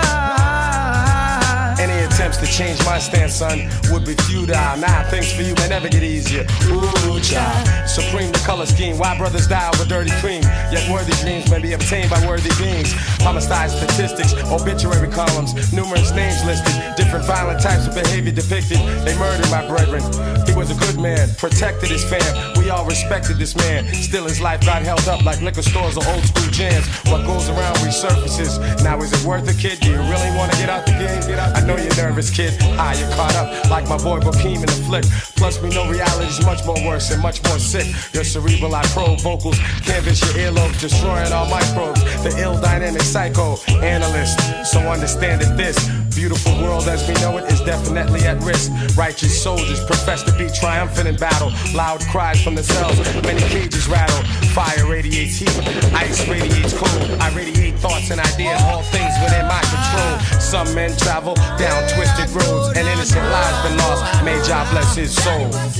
Speaker 9: Any attempts to change my stance, son, would be futile. Nah, things for you may never get easier. Ooh, child. Supreme the color scheme. Why brothers die over dirty cream? Yet worthy dreams may be obtained by worthy beings. Homicide statistics, obituary columns, numerous names listed, different violent types of behavior depicted. They murdered my brethren. He was a good man, protected his fam. We all respected this man. Still his life got held up like liquor stores or old school jams. What goes around resurfaces. Now is it worth it, kid? Do you really want to get out the game? Get out. I know you're nervous, kid. Ah, you're caught up like my boy Bokeem in the flick. Plus we know reality's much more worse and much more sick. Your cerebral, I probe vocals, canvas your earlobes, destroying all microbes. The ill dynamic psycho analyst. So understand that this beautiful world as we know it is definitely at risk. Righteous soldiers profess to be triumphant in battle. Loud cries from the cells, many cages rattle. Fire radiates heat, ice radiates cold. I radiate thoughts and ideas, all things within my control. Some men travel down twisted roads, and innocent lives been lost. May God bless his soul.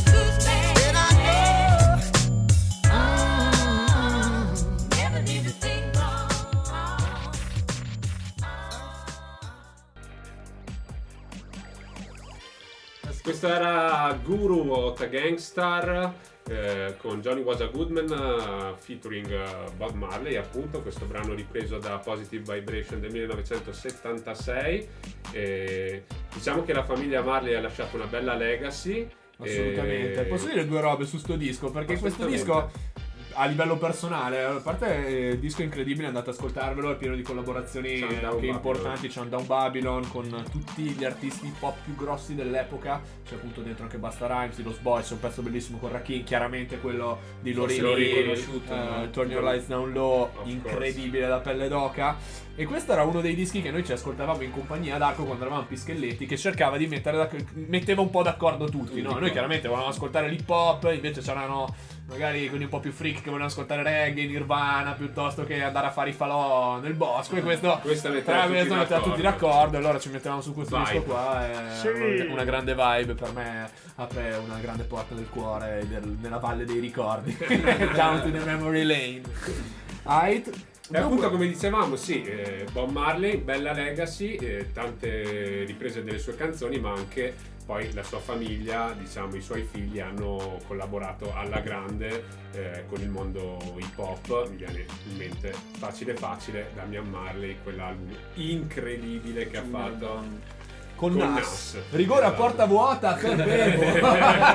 Speaker 5: Questo era Guru o The Gangstar eh, con Johnny Was a Good Man uh, featuring uh, Bob Marley, appunto. Questo brano ripreso da Positive Vibration del millenovecentosettantasei. E diciamo che la famiglia Marley ha lasciato una bella legacy.
Speaker 2: Assolutamente.
Speaker 5: E...
Speaker 2: Posso dire due robe su sto disco? Perché questo disco, a livello personale, a parte il disco incredibile, andate ad ascoltarvelo, è pieno di collaborazioni anche importanti. C'è un Down Babylon con tutti gli artisti pop più grossi dell'epoca, c'è appunto dentro anche Busta Rhymes, i Los Boys, c'è un pezzo bellissimo con Rakim, chiaramente quello di Lorini, uh, Turn Your Lights Down Low, incredibile, da pelle d'oca. E questo era uno dei dischi che noi ci ascoltavamo in compagnia d'Arco quando eravamo Pischelletti, che cercava di mettere da, metteva un po' d'accordo tutti, no? Noi chiaramente volevamo ascoltare l'hip hop, invece c'erano magari quelli un po' più freak che volevano ascoltare reggae, Nirvana, piuttosto che andare a fare i falò nel bosco, e questo
Speaker 5: questa metteva tutti,
Speaker 2: metteva tutti d'accordo, e allora ci mettevamo su questo
Speaker 5: vibe.
Speaker 2: disco qua, e
Speaker 4: Sì.
Speaker 2: una grande vibe, per me apre una grande porta del cuore del, nella valle dei ricordi. Down to the memory lane. Right.
Speaker 5: E appunto, come dicevamo, sì, eh, Bob Marley, bella legacy, eh, tante riprese delle sue canzoni, ma anche poi la sua famiglia, diciamo i suoi figli, hanno collaborato alla grande eh, con il mondo hip hop. Mi viene in mente Facile Facile, Damian Marley, quell'album incredibile che ha fatto
Speaker 2: con,
Speaker 5: con
Speaker 2: Nas.
Speaker 5: Nas.
Speaker 2: Rigore a porta vuota per Bebo.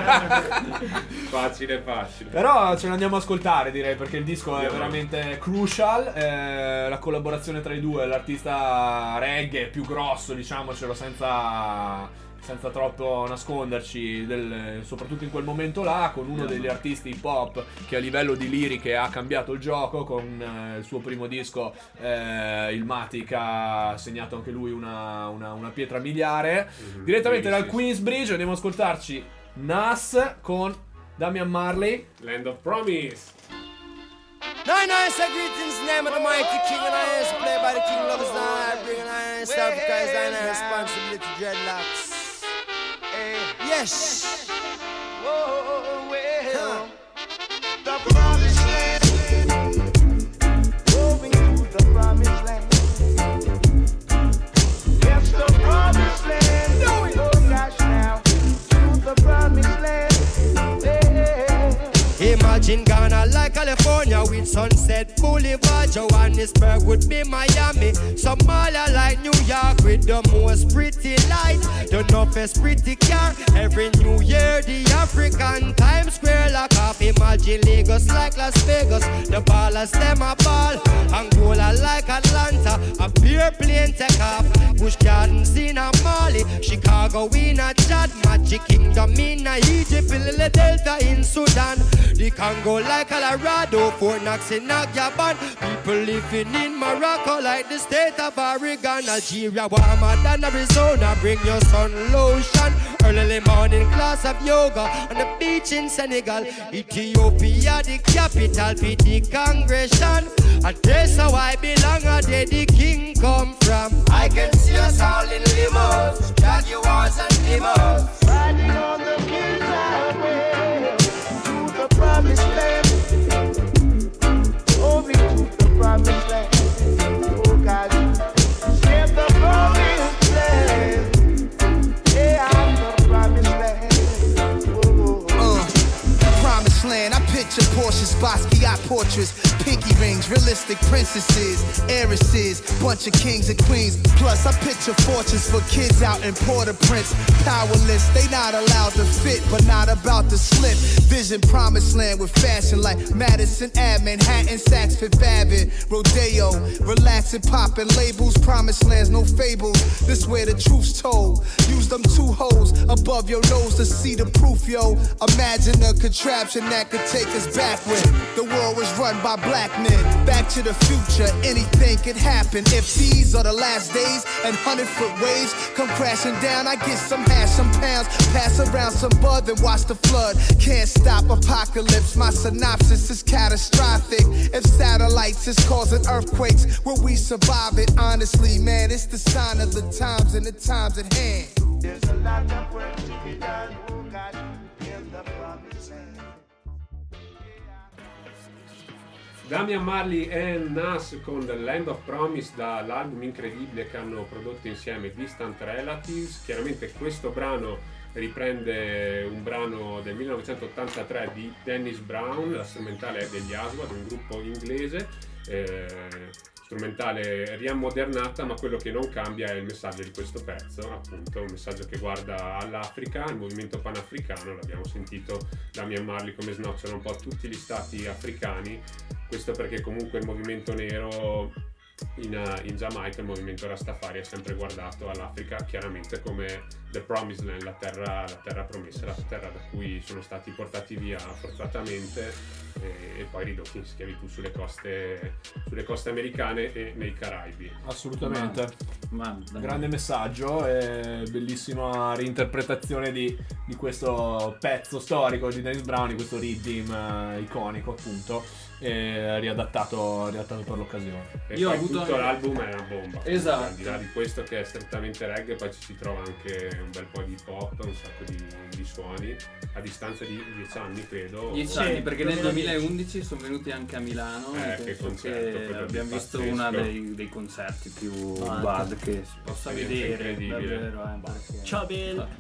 Speaker 5: Facile facile.
Speaker 2: Però ce l'andiamo a ascoltare, direi, perché il disco
Speaker 5: Andiamo.
Speaker 2: è veramente crucial. eh, La collaborazione tra i due, l'artista reggae più grosso, diciamocelo senza senza troppo nasconderci, del, soprattutto in quel momento là, con uno degli artisti hip hop che a livello di liriche ha cambiato il gioco, con eh, il suo primo disco, eh, il Matic, ha segnato anche lui una, una, una pietra miliare.
Speaker 5: Mm-hmm.
Speaker 2: Direttamente
Speaker 5: Sì,
Speaker 2: dal
Speaker 5: sì,
Speaker 2: Queensbridge andiamo ad ascoltarci Nas con Damian Marley,
Speaker 5: Land of Promise.
Speaker 10: Nine nine say greetings, name of the mighty king, and I is played by the king lovers. I bring an iron South Africa is I responsibility dreadlocks. Yes.
Speaker 6: Whoa, well, the promised land, moving to the promised land. Yes, the promised land. Oh gosh, now to the promised land. Yeah.
Speaker 10: Imagine Ghana like California with Sunset Boulevard. Johannesburg would be Miami. Somalia like New York with the most pretty light. The toughest pretty car. Every New Year the African Times Square lock off. Imagine Lagos like Las Vegas. The ballers them a ball. Angola like Atlanta. A pure plane take off. Bush Gardens in a Mali. Chicago in a Chad. Magic Kingdom in a Egypt. Lily Delta in Sudan. The Congo like Colorado. Fort Knox in Agyaban. People living in Morocco like the state of Oregon. Algeria warmer than Arizona. Bring your sun lotion. Early morning class of yoga on the beach in Senegal. Ethiopia the capital for the congregation. And that's how I belong. And there the king come from. I can see us all in limos, Jaguars and limos,
Speaker 6: Riding on the king's highway to the promised land. Moving to the promised land. Oh God, get the promised land. Yeah, I'm the promised land. Oh.
Speaker 9: Uh, promised land, I picture Porsches, Basquiat portraits, pinky rings, realistic princesses, heiresses, bunch of kings and queens. Plus, I picture fortunes for kids out in Port-au-Prince. Powerless, they not allowed to fit, but not about to slip. Vision promised land with fashion like Madison Ave, Manhattan, Saks Fifth Avenue, Rodeo. Relaxing, popping labels, promised lands, no fables. This where the truth's told. Use them two holes above your nose to see the proof, yo. Imagine a contraption that could take us back when the world was run by black men. Back to the future, anything could happen. If these are the last days and hundred foot waves come crashing down, I get some hash, some pounds, pass around some bud, then watch the flood. Can't stop apocalypse, my synopsis is catastrophic. If satellites is causing earthquakes, will we survive it? Honestly, man, it's the sign of the times and the times at hand.
Speaker 6: There's a lot of work to be done. Oh God, in the promised land.
Speaker 5: Damian Marley e Nas con The Land of Promise, dall'album incredibile che hanno prodotto insieme, Distant Relatives. Chiaramente questo brano riprende un brano del millenovecentottantatré di Dennis Brown, la strumentale è degli Aswad, un gruppo inglese. Eh, strumentale riammodernata, ma quello che non cambia è il messaggio di questo pezzo, appunto un messaggio che guarda all'Africa, il movimento panafricano. L'abbiamo sentito da Damian Marley come snocciano un po' tutti gli stati africani, questo perché comunque il movimento nero in, in Giamaica, il movimento Rastafari, ha sempre guardato all'Africa chiaramente come the promised land, la terra, la terra promessa, la terra da cui sono stati portati via forzatamente e, e poi ridotti in schiavitù sulle coste, sulle coste americane e nei Caraibi.
Speaker 2: Assolutamente,
Speaker 1: ma, ma,
Speaker 2: grande messaggio e bellissima reinterpretazione di, di questo pezzo storico di Dennis Brown, di questo rhythm uh, iconico appunto, e riadattato, riadattato per l'occasione.
Speaker 5: E
Speaker 1: io ho
Speaker 5: poi
Speaker 1: avuto
Speaker 5: tutto
Speaker 1: anche...
Speaker 5: l'album è una bomba.
Speaker 1: Esatto.
Speaker 5: Al di là di questo che è strettamente reggae, poi ci si trova anche un bel po' di pop, un sacco di, di suoni a distanza di dieci anni credo.
Speaker 1: dieci
Speaker 4: Sì,
Speaker 1: anni, perché nel
Speaker 4: duemiladieci
Speaker 1: duemilaundici sono venuti anche a Milano
Speaker 5: Eh,
Speaker 1: e
Speaker 5: che
Speaker 1: penso
Speaker 5: concerto,
Speaker 1: che
Speaker 5: quello
Speaker 1: abbiamo
Speaker 5: lì,
Speaker 1: visto
Speaker 5: pazzesco.
Speaker 1: uno dei, dei concerti più
Speaker 4: Ah,
Speaker 1: bad che si possa
Speaker 5: esperienza
Speaker 1: vedere
Speaker 5: incredibile.
Speaker 1: davvero, eh, perché...
Speaker 4: Ciao Bill.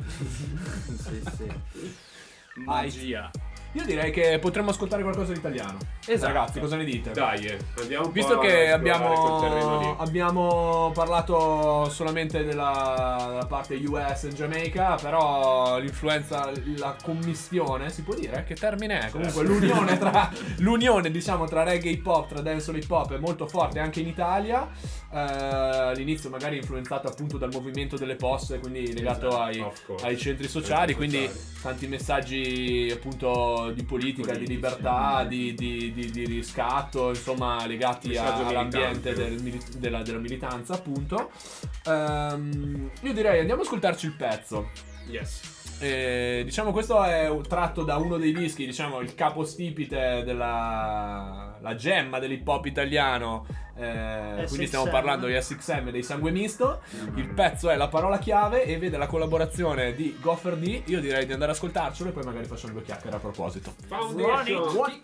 Speaker 1: sì, sì. Magia.
Speaker 2: Io direi che potremmo ascoltare qualcosa di italiano.
Speaker 1: Esatto.
Speaker 2: Ragazzi, cosa ne dite?
Speaker 5: Dai, eh, andiamo un
Speaker 2: Visto
Speaker 5: po'
Speaker 2: che
Speaker 5: a esplorare quel terreno
Speaker 2: abbiamo,
Speaker 5: lì.
Speaker 2: abbiamo parlato solamente della, della parte U S e Jamaica, però l'influenza, la commistione, si può dire? Che termine è? Comunque l'unione tra l'unione diciamo tra reggae e hip hop, tra dancehall e hip hop è molto forte anche in Italia. Eh, all'inizio magari influenzato appunto dal movimento delle poste, quindi legato
Speaker 5: Esatto,
Speaker 2: ai,
Speaker 5: of course.
Speaker 2: ai centri sociali,
Speaker 5: Centri
Speaker 2: quindi
Speaker 5: sociali.
Speaker 2: tanti messaggi appunto di politica,
Speaker 5: Politici.
Speaker 2: di libertà, di, di, di, di riscatto, insomma legati a,
Speaker 5: Messaggio
Speaker 2: all'ambiente
Speaker 5: militante.
Speaker 2: del mili- della, della militanza appunto. Ehm, io direi andiamo ad ascoltarci il pezzo.
Speaker 5: Yes.
Speaker 2: Eh, diciamo questo è un- tratto da uno dei dischi, diciamo il capostipite della la gemma dell'hip hop italiano, eh, quindi stiamo
Speaker 4: S X M.
Speaker 2: parlando di S X M dei Sangue Misto. Il pezzo è La Parola Chiave e vede la collaborazione di Gopher D. Io direi di andare ad ascoltarcelo e poi magari facciamo due chiacchiere a proposito.
Speaker 5: Foundation.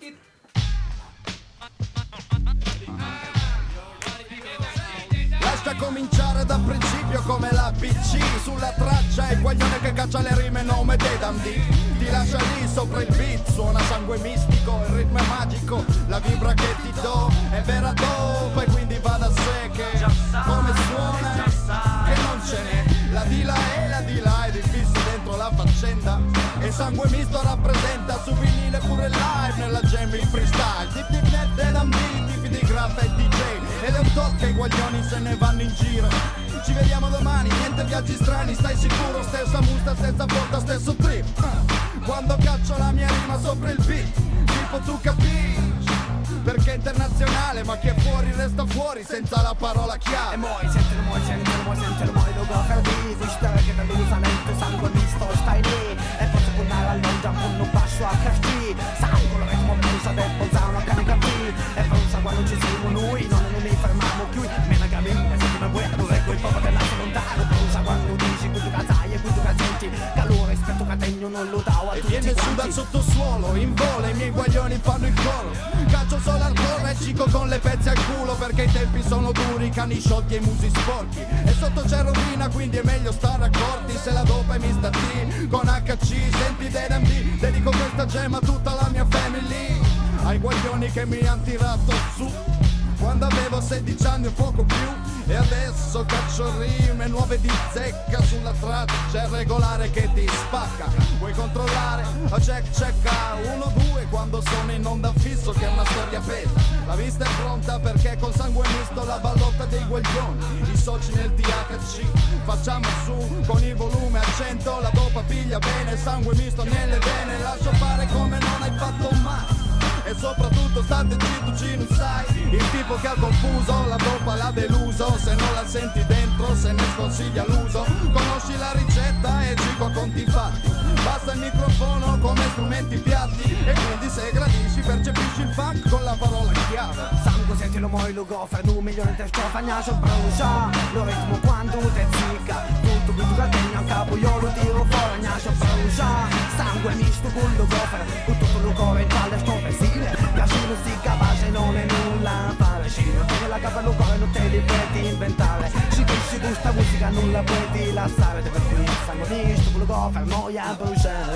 Speaker 13: Lascia cominciare da principio come l'A B C. Sulla traccia il guaglione che caccia le rime, nome dei Dundee. Ti lascia lì sopra il beat, suona Sangue Mistico, il ritmo è magico, la vibra che ti do è vera dope, e quindi va da sé che come suona che non ce n'è. La di là e la di là è difficile dentro la faccenda, e Sangue Misto rappresenta su vinile pure live nella jam il freestyle. Dip dip net dei Dundee, tipi di graffa e D J, ed è un tot che i guaglioni se ne vanno in giro. Ci vediamo domani, niente viaggi strani, stai sicuro? Stessa musta, stessa porta, stesso trip. uh. Quando caccio la mia rima sopra il beat, tipo tu capisci, perché è internazionale, ma chi è fuori resta fuori senza la parola chiave.
Speaker 14: E moi, sentilo moi, sentilo moi, sentilo moi, lo goffer di Zistöge dall'usamento, Sangue Misto, stai lì e posso puntare all'ongia, punno basso a café. Sangue, lo ritmo pensa, deppo, zano, carica qui. E pensa quando ci siamo noi, non ne mi fermiamo più. Mena gamina, se ti me vuoi, dove quel popolo dell'altro lontano. Pensa quando dici, qui tu casai e qui tu casenti. Calore, rispetto categno, non lo davo a
Speaker 13: E
Speaker 14: tutti
Speaker 13: viene su
Speaker 14: quanti.
Speaker 13: dal sottosuolo, in volo, i miei guaglioni fanno il coro. Calcio solo al cuore e cico con le pezze al culo, perché i tempi sono duri, cani sciolti e i musi sporchi. E sotto c'è rovina, quindi è meglio stare accorti. Se la dopa è mister T con H C, senti dei D M D, dedico questa gemma a tutta la mia family. Ai guaglioni che mi han tirato su quando avevo sedici anni o poco più, e adesso caccio rime nuove di zecca. Sulla traccia c'è il regolare che ti spacca. Vuoi controllare? A check check uno due quando sono in onda fisso, che è una storia bella. La vista è pronta perché con Sangue Misto la ballotta dei guaglioni, i soci nel T H C. Facciamo su con il volume a cento, la dopa piglia bene, Sangue Misto nelle vene. Lascio fare come non hai fatto mai, e soprattutto state zitto, ci non sai. Il tipo che ha confuso, la dopa l'ha deluso. Se non la senti dentro, se ne sconsiglia l'uso. Conosci la ricetta e gico a conti fatti. Basta il microfono come strumenti piatti, e quindi se gradisci percepisci il funk con la parola chiave.
Speaker 14: Sangue, sentilo moi, lo goffer, un milione di stofagnaggio, brucia. Lo ritmo quando te zicca, tutto qui tu categno a capo, io lo tiro fuori, gnascio, brucia. Sangue misto con lo goffer, con tutto lo cuore in talle stofesile. Casino si capace, non è nulla a fare. Scino, che la capa lo cuore non te li puoi inventare. Si capisci questa musica non la puoi lasciare. Per cui sangue misto con lo goffer, noia a bruciare.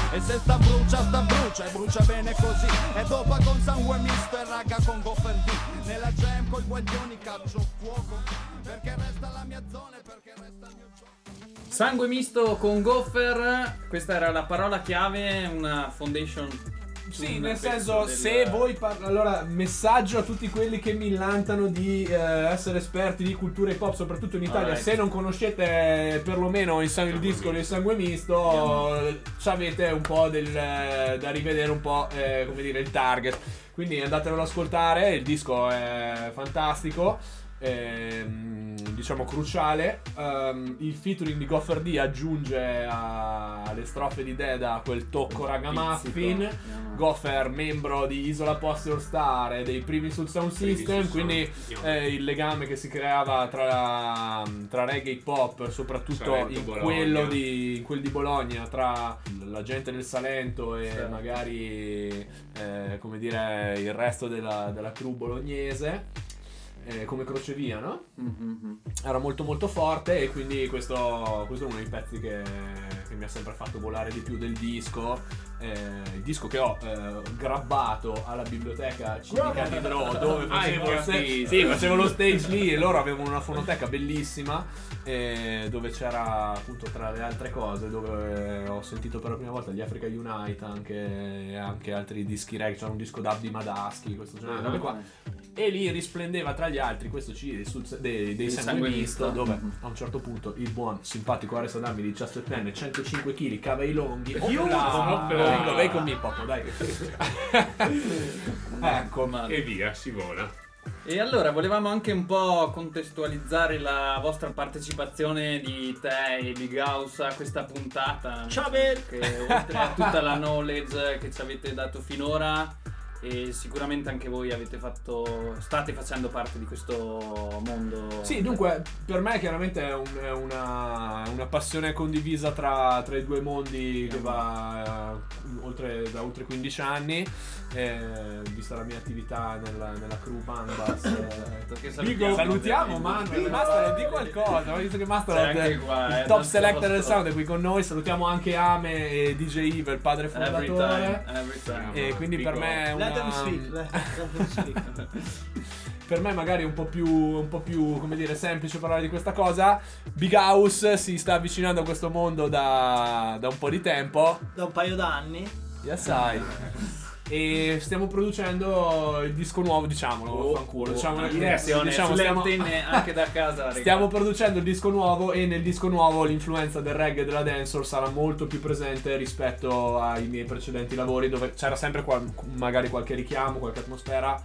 Speaker 13: E se sta brucia, sta brucia e brucia bene così. E dopo con sangue misto e raga con Goffer D. Nella jam coi guaglioni caccio fuoco. Perché resta la mia zona e perché resta il mio gioco.
Speaker 1: Sangue misto con Goffer, questa era la parola chiave, una foundation.
Speaker 2: Sì, nel senso, del... se voi par- allora, messaggio a tutti quelli che millantano di eh, essere esperti di cultura hip hop, soprattutto in Italia. Right. Se non conoscete perlomeno il, sang- il disco del Sangue Misto, eh, avete un po' del, eh, da rivedere un po' eh, come dire il target. Quindi andatelo ad ascoltare, il disco è fantastico. Ehm, diciamo cruciale. Um, il featuring di Goffer D aggiunge a- alle strofe di Deda quel tocco ragamuffin. Yeah. Goffer membro di Isola Posse All Star e dei primi sul Sound System, quindi eh, il legame che si creava tra, tra reggae e hip hop, soprattutto Salento, in Bologna. quello di in quel di Bologna, tra la gente del Salento e sì. magari eh, come dire il resto della, della crew bolognese. Eh, come crocevia, no? Mm-hmm. Era molto molto forte e quindi questo, questo è uno dei pezzi che, che mi ha sempre fatto volare di più del disco. Eh, il disco che ho eh, grabbato alla biblioteca civica di Dro, dove facevo, ah, st- sì, facevo lo stage lì e loro avevano una fonoteca bellissima eh, dove c'era appunto tra le altre cose, dove ho sentito per la prima volta gli Africa Unite, anche, anche altri dischi reggae, c'era un disco d'Abdi Madaschi, questo genere di robe qua. E lì risplendeva tra gli altri questo C D sul, dei, dei Sangue Misto, dove mm-hmm. a un certo punto il buon simpatico Ares Adami di diciassettenne, centocinque chili, cava i longhi. Io vengo, vai con me Popo, dai. Ecco, man.
Speaker 5: E via, si vola.
Speaker 1: E allora volevamo anche un po' contestualizzare la vostra partecipazione di te e Big House a questa puntata.
Speaker 4: Ciao Bel!
Speaker 1: Che oltre a tutta la knowledge che ci avete dato finora, e sicuramente anche voi avete fatto state facendo parte di questo mondo.
Speaker 2: Sì, dunque per me chiaramente è, un, è una, una passione condivisa tra, tra i due mondi che va uh, oltre, da oltre quindici anni, eh, vista la mia attività nella, nella crew Bambas. Eh, salutiamo, salutiamo Manuel, Master, di qualcosa, ho visto che Master è il,
Speaker 1: qua,
Speaker 2: il top selector del sound è qui con noi. Salutiamo anche Ame e D J Evil, il padre fondatore.
Speaker 1: Every time, every time.
Speaker 2: E quindi
Speaker 5: Big
Speaker 2: per me è una...
Speaker 4: Let them speak, let them speak.
Speaker 2: Per me magari è un po' più un po' più come dire semplice parlare di questa cosa. Big House si sta avvicinando a questo mondo da, da un po' di tempo,
Speaker 4: da un paio d'anni.
Speaker 2: Ya sai. E stiamo producendo il disco nuovo, diciamolo,
Speaker 1: oh,
Speaker 2: fanculo,
Speaker 1: oh,
Speaker 2: diciamo,
Speaker 1: oh,
Speaker 2: diciamo, diciamo
Speaker 1: sulle
Speaker 2: stiamo,
Speaker 1: antenne anche da casa.
Speaker 2: Stiamo producendo il disco nuovo e nel disco nuovo l'influenza del reggae e della dancehall sarà molto più presente rispetto ai miei precedenti lavori, dove c'era sempre qual- magari qualche richiamo, qualche atmosfera.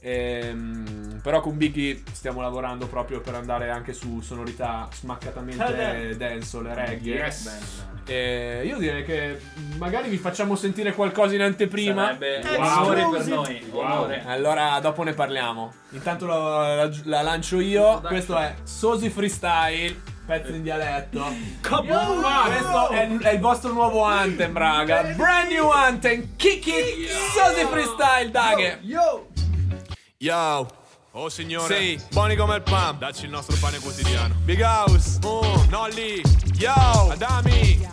Speaker 2: Ehm, però con Biggie stiamo lavorando proprio per andare anche su sonorità smaccatamente dancehall e reggae.
Speaker 5: Yes.
Speaker 2: E io direi che magari vi facciamo sentire qualcosa in anteprima.
Speaker 1: Sarebbe onore wow. per noi.
Speaker 5: Wow.
Speaker 2: Allora dopo ne parliamo. Intanto la, la, la lancio io. Questo è Sosi Freestyle, pezzo in dialetto. Questo è, è il vostro nuovo anthem, raga. Brand new anthem. Kick it. Sosi Freestyle, daghe.
Speaker 13: Yo. Yo. Oh signore, sì, buoni come il pan, dacci il nostro pane quotidiano. Big House, oh, Nolly, yo, Adami,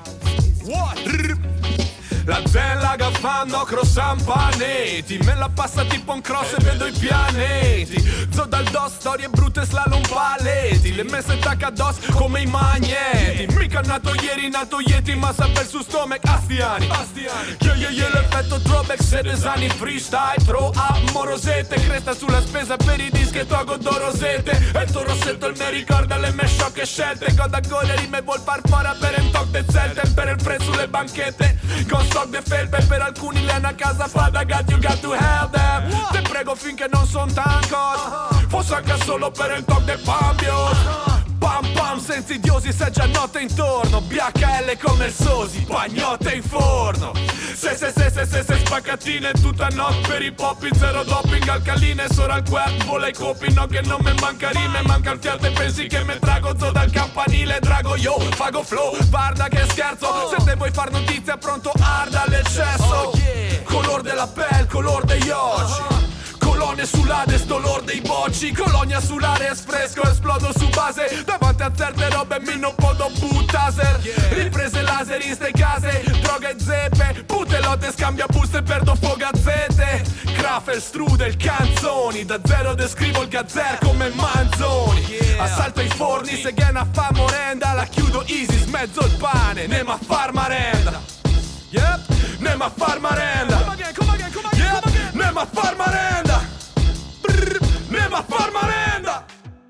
Speaker 13: what? La bella che fanno croissant panetti, me la passa tipo un cross e vedo i pianeti. Zo dal dos, storie brutte, slalom paletti, le messe tacca addosso come i magneti. Mica nato ieri, nato Yeti, ma saper su stomach astiani. Io io io l'effetto throwback, sedesani freestyle, throw up morosette, cresta sulla spesa per i dischi e togo dorosette. E il tuo rossetto il me ricorda le mie sciocche scelte. God a gole rime vuol far fare per un toc de zelte, per il prezzo sulle banchette. Con stock de felpe, per alcuni le hanno a casa fada, got you got to help them. Te prego finché non son tancos, fosse anche solo per il toc del pambio. Pam pam senza idiosi, se già notte intorno, B H L come il Sosi, pagnotte in forno. Se se se se se se spaccatine tutta notte per i poppi, zero doping, alcaline, solo al quack, vola i copi, no che non me manca rime, manca il fiato e pensi che me trago zo dal campanile, drago yo, fago flow, guarda che scherzo, se te vuoi far notizia pronto arda l'eccesso, color della pelle, color degli occhi, color
Speaker 2: donne sull'ade, sto lord dei bocci. Colonia sull'area esfresco, esplodo su base. Davanti a certe robe mi non posso buttaser. Riprese laser in ste case, droga e zeppe. Pute lotte scambia buste e perdo fogazzette. Krafer, strudel, canzoni. Da zero descrivo il gazzer come Manzoni. Assalto i forni, se gana fa morenda. La chiudo easy, smezzo il pane. Nema far marenda. Yep, nema far marenda. Yep, nema far marenda. Brr, nema far marenda.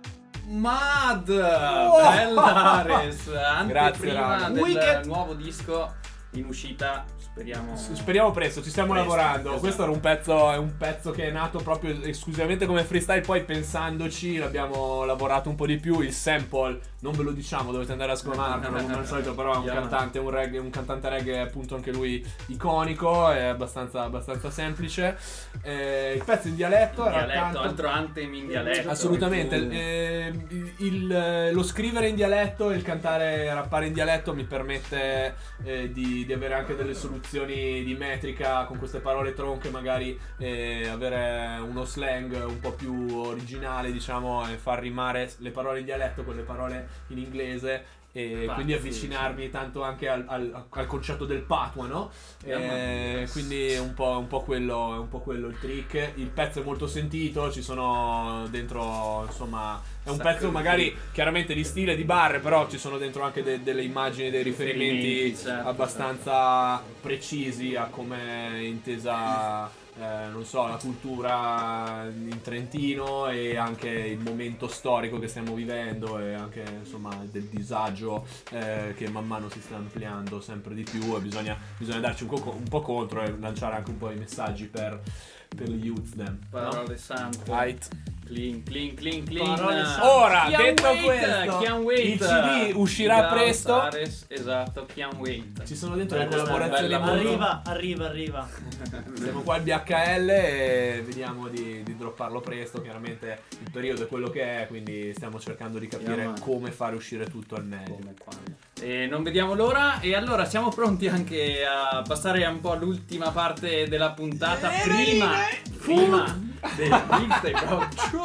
Speaker 1: Mad,
Speaker 2: Oh!
Speaker 1: bella Ares,
Speaker 2: Grazie,
Speaker 1: anteprima
Speaker 2: raga.
Speaker 1: del
Speaker 2: Wicked.
Speaker 1: nuovo disco in uscita, speriamo.
Speaker 2: Speriamo presto, ci stiamo
Speaker 1: Presto,
Speaker 2: lavorando.
Speaker 1: esatto.
Speaker 2: Questo era un pezzo, è un pezzo che è nato proprio esclusivamente come freestyle. Poi pensandoci l'abbiamo lavorato un po' di più. Il sample, non ve lo diciamo, dovete andare a scomarlo come al solito. Però è un
Speaker 1: Yeah.
Speaker 2: cantante, un reggae, un cantante reggae appunto anche lui iconico. È abbastanza, abbastanza semplice. Eh, il pezzo in dialetto era
Speaker 1: Dialetto,
Speaker 2: tanto-
Speaker 1: altro anthem in dialetto.
Speaker 2: Assolutamente,
Speaker 1: Tu-
Speaker 2: eh, il- il- lo scrivere in dialetto e il cantare e rappare in dialetto mi permette eh, di, di avere anche delle soluzioni di metrica con queste parole tronche, magari eh, avere uno slang un po' più originale, diciamo, e far rimare le parole in dialetto con le parole in inglese. E
Speaker 1: Infatti,
Speaker 2: quindi avvicinarmi
Speaker 1: sì.
Speaker 2: tanto anche al, al- al concetto del patwa, no?
Speaker 1: Yeah,
Speaker 2: Eh,
Speaker 1: man.
Speaker 2: quindi è un po', un po' quello, è un po' quello il trick. Il pezzo è molto sentito, ci sono dentro, insomma, è un
Speaker 1: Sacco
Speaker 2: pezzo
Speaker 1: di
Speaker 2: magari
Speaker 1: trick.
Speaker 2: chiaramente di stile, di barre, però ci sono dentro anche de- delle immagini, dei riferimenti
Speaker 1: Riferimenti, certo,
Speaker 2: abbastanza precisi a come è intesa. Eh, non so, la cultura in Trentino e anche il momento storico che stiamo vivendo e anche insomma del disagio eh, che man mano si sta ampliando sempre di più e bisogna, bisogna darci un, co- un po' contro e lanciare anche un po' i messaggi per, per gli youth them,
Speaker 1: Parole
Speaker 2: no?
Speaker 1: sante.
Speaker 2: Right.
Speaker 1: Clean, clean, clean, clean.
Speaker 4: Parole sante.
Speaker 2: Ora,
Speaker 1: Can't
Speaker 2: detto
Speaker 1: wait,
Speaker 2: questo,
Speaker 1: can't wait.
Speaker 2: il C D uscirà
Speaker 1: Big House,
Speaker 2: presto.
Speaker 1: Ares, esatto, can't wait.
Speaker 2: Ci sono dentro le
Speaker 1: Bella,
Speaker 2: collaborazioni
Speaker 1: bella,
Speaker 2: molto-
Speaker 4: Arriva, arriva, arriva.
Speaker 2: Siamo qua al B H L e vediamo di, di dropparlo presto. Chiaramente il periodo è quello che è, quindi stiamo cercando di capire
Speaker 1: Yeah, man.
Speaker 2: come fare uscire tutto al meglio.
Speaker 1: E non vediamo l'ora. E allora siamo pronti anche a passare un po' all'ultima parte della puntata. Prima, prima del mixtape. Oh,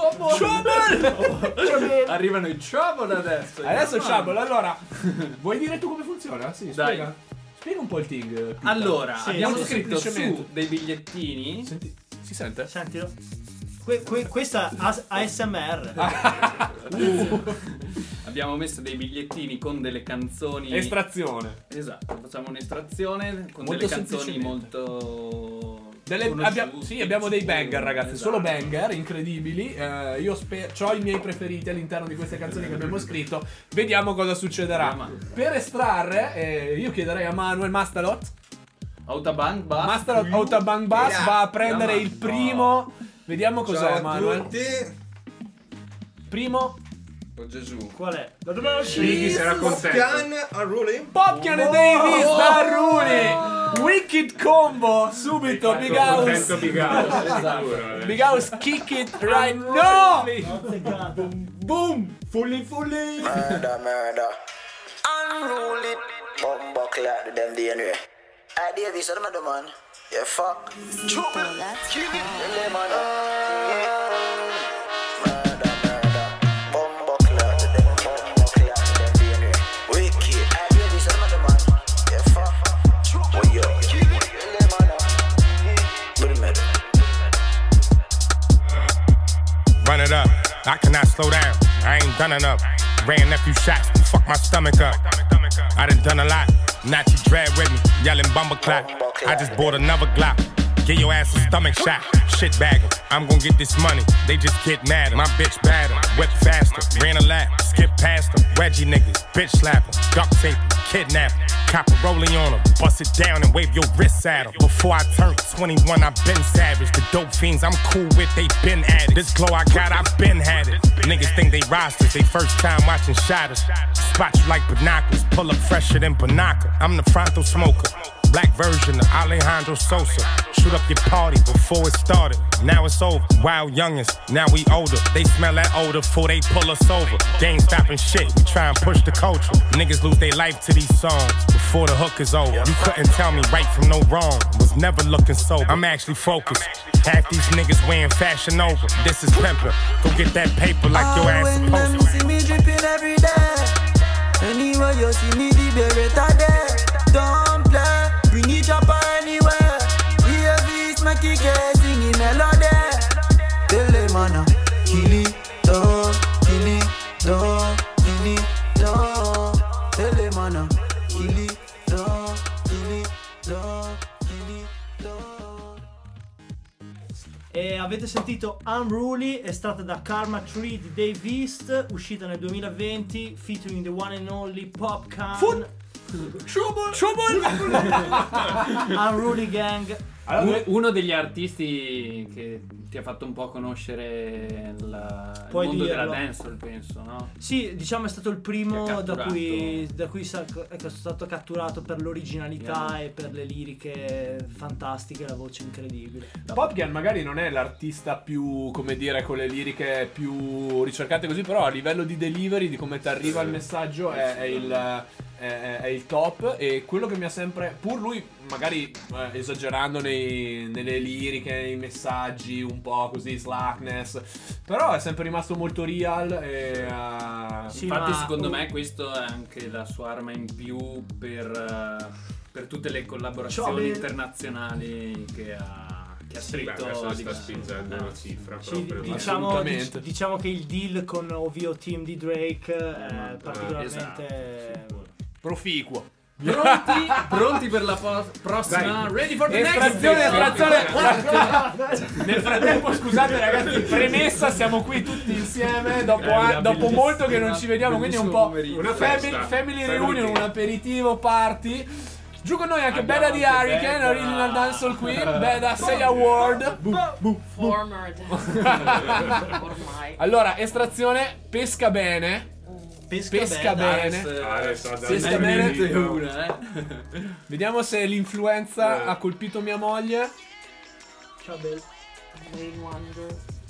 Speaker 1: trouble! Arrivano i trouble adesso.
Speaker 2: Adesso
Speaker 1: Yeah,
Speaker 2: Trouble,
Speaker 1: man.
Speaker 2: allora vuoi dire tu come funziona? Sì,
Speaker 1: Dai.
Speaker 2: spiega. Spiega un po' il Ting. Pita.
Speaker 1: Allora,
Speaker 4: Sì,
Speaker 1: abbiamo
Speaker 2: molto
Speaker 1: scritto
Speaker 2: semplicemente.
Speaker 1: su dei bigliettini.
Speaker 2: Senti, si sente?
Speaker 4: Sentilo. Que- que- questa A- A S M R.
Speaker 1: Abbiamo messo dei bigliettini con delle canzoni.
Speaker 2: Estrazione.
Speaker 1: Esatto, facciamo un'estrazione con
Speaker 2: Molto
Speaker 1: delle canzoni
Speaker 2: semplicemente.
Speaker 1: molto.
Speaker 2: Delle-
Speaker 1: conosciute,
Speaker 2: abbia- sì, abbiamo dei banger, ragazzi.
Speaker 1: Esatto.
Speaker 2: Solo banger incredibili. Eh, io spe- ho i miei preferiti all'interno di queste canzoni che abbiamo scritto. Vediamo cosa succederà.
Speaker 1: Vediamo.
Speaker 2: Per estrarre, eh, io chiederei a Manuel Mastalot.
Speaker 1: Autobahn Bus.
Speaker 2: Master Autobahn Bus
Speaker 15: Yeah.
Speaker 2: va a prendere
Speaker 1: Yeah,
Speaker 2: il primo. Vediamo cos'è,
Speaker 15: Ciao a
Speaker 2: Manuel.
Speaker 15: tutti.
Speaker 2: Primo.
Speaker 15: Oh Gesù.
Speaker 4: Qual è?
Speaker 5: Shiggy sarà contento.
Speaker 15: Popcan a ruling.
Speaker 2: Popcan e Davis da Rooney. Wicked combo. Subito. Big House.
Speaker 5: Contento Big House.
Speaker 1: Esatto.
Speaker 5: Sicuro, eh.
Speaker 2: Big House kick it right now.
Speaker 1: Boom! Fully, fully!
Speaker 16: Murder, murder. Unruly bumbo clad them D N A. I did this other mother man. Yeah, fuck. Chop it. Kill it. Yeah, man. Murder, murder. Bumbo clad them. Bumbo clad them D N A. Wicked. I did this other mother man. Yeah, fuck. Oh, yo. Kill it. Yeah, man. Good murder.
Speaker 17: Run it up, I cannot slow down. I ain't done enough. Ran a few shots, fuck my stomach up. I done done a lot. Nazi dread with me, yelling bumble clap. I just bought another Glock. Give your ass a stomach shot. Shit bagging, I'm gon' get this money. They just get mad. My bitch badder, whip faster. Ran a lap, skip past them. Wedgie niggas, bitch slapper, duct tape, kidnap. Copper rolling on them, bust it down and wave your wrists at them. Before I turned twenty-one, I been savage. The dope fiends I'm cool with, they been at it. This glow I got, I been had it. Niggas think they rosters, they first time watching shotters. Spot you like binoculars, pull up fresher than Banaka. I'm the frontal smoker. Black version of Alejandro Sosa. Shoot up your party before it started. Now it's over. Wild youngins, now we older. They smell that odor before they pull us over. They ain't stopping shit. We try and push the culture. Niggas lose their life to these songs before the hook is over. You couldn't tell me right from no wrong. Was never looking sober. I'm actually focused. Half these niggas wearing Fashion Over. This is pimpin'. Go get that paper like your ass supposed to.
Speaker 18: When them see me dripping every day. Anywhere you see me, the beretta there. Don't play, bring it up anywhere. We have this Mackie singing melody. Tell them man, kill it, dog, kill it, dog, kill it, dog. Tell them man, kill it, dog, kill it, dog, kill it, dog.
Speaker 4: E avete sentito Unruly, estratta da Karma Tree di Dave East, uscita nel duemilaventi, featuring the one and only Popcaan.
Speaker 2: Foot. Trouble. Trouble.
Speaker 4: Unruly Gang.
Speaker 1: Allora, uno degli artisti che ti ha fatto un po' conoscere la, il
Speaker 4: Puoi
Speaker 1: mondo
Speaker 4: dirlo.
Speaker 1: della dancehall, penso, no?
Speaker 4: Sì, diciamo è stato il
Speaker 1: Ti
Speaker 4: primo
Speaker 1: ha
Speaker 4: da
Speaker 1: catturato.
Speaker 4: cui, da cui sa- è stato catturato per l'originalità
Speaker 1: Yeah.
Speaker 4: e per le liriche fantastiche, la voce incredibile.
Speaker 2: Popcaan magari non è l'artista più, come dire, con le liriche più ricercate così, però a livello di delivery, di come ti arriva il messaggio è, è il... È, è il top. E quello che mi ha sempre, pur lui magari eh, esagerando nei, nelle liriche, nei messaggi, un po' così slackness, però è sempre rimasto molto real e, uh,
Speaker 1: Sì, infatti secondo me questo è anche la sua arma in più per, uh, per tutte le collaborazioni
Speaker 4: Cioè,
Speaker 1: internazionali che ha che ha
Speaker 5: Sì, beh,
Speaker 1: stretto
Speaker 5: adesso
Speaker 1: a
Speaker 5: sta
Speaker 1: livello-
Speaker 5: spingendo
Speaker 1: eh.
Speaker 5: una cifra
Speaker 4: Sì,
Speaker 5: proprio.
Speaker 4: diciamo,
Speaker 2: Assolutamente.
Speaker 4: dic- diciamo che il deal con O V O Team di Drake è
Speaker 5: Ah,
Speaker 4: particolarmente
Speaker 2: proficuo.
Speaker 1: Pronti? Pronti per la po- prossima?
Speaker 2: Dai.
Speaker 1: Ready for the
Speaker 2: Estrazione,
Speaker 1: next
Speaker 2: estrazione. Nel frattempo, scusate ragazzi, premessa, siamo qui tutti insieme dopo,
Speaker 1: Eh,
Speaker 2: a- dopo
Speaker 1: bellissimo,
Speaker 2: molto che non ci vediamo, quindi è un po'
Speaker 5: Una
Speaker 2: family,
Speaker 5: festa.
Speaker 2: family
Speaker 5: Family
Speaker 2: reunion,
Speaker 5: tea.
Speaker 2: un aperitivo party. Giù con noi anche
Speaker 1: Abbiamo
Speaker 2: Beda di
Speaker 1: anche
Speaker 2: Hurricane,
Speaker 1: Beda.
Speaker 2: Original Dancehall Queen. Beda, sei award.
Speaker 19: Former ormai.
Speaker 2: Allora, estrazione, pesca bene.
Speaker 4: pesca,
Speaker 2: Pesca
Speaker 4: bene.
Speaker 2: bene.
Speaker 5: Adesso, adesso,
Speaker 2: Pesca
Speaker 5: adesso,
Speaker 2: bene.
Speaker 5: adesso.
Speaker 1: una, eh.
Speaker 2: Vediamo se l'influenza
Speaker 5: Eh.
Speaker 2: ha colpito mia moglie.
Speaker 4: Ciao Bel.
Speaker 19: Rain Wonder.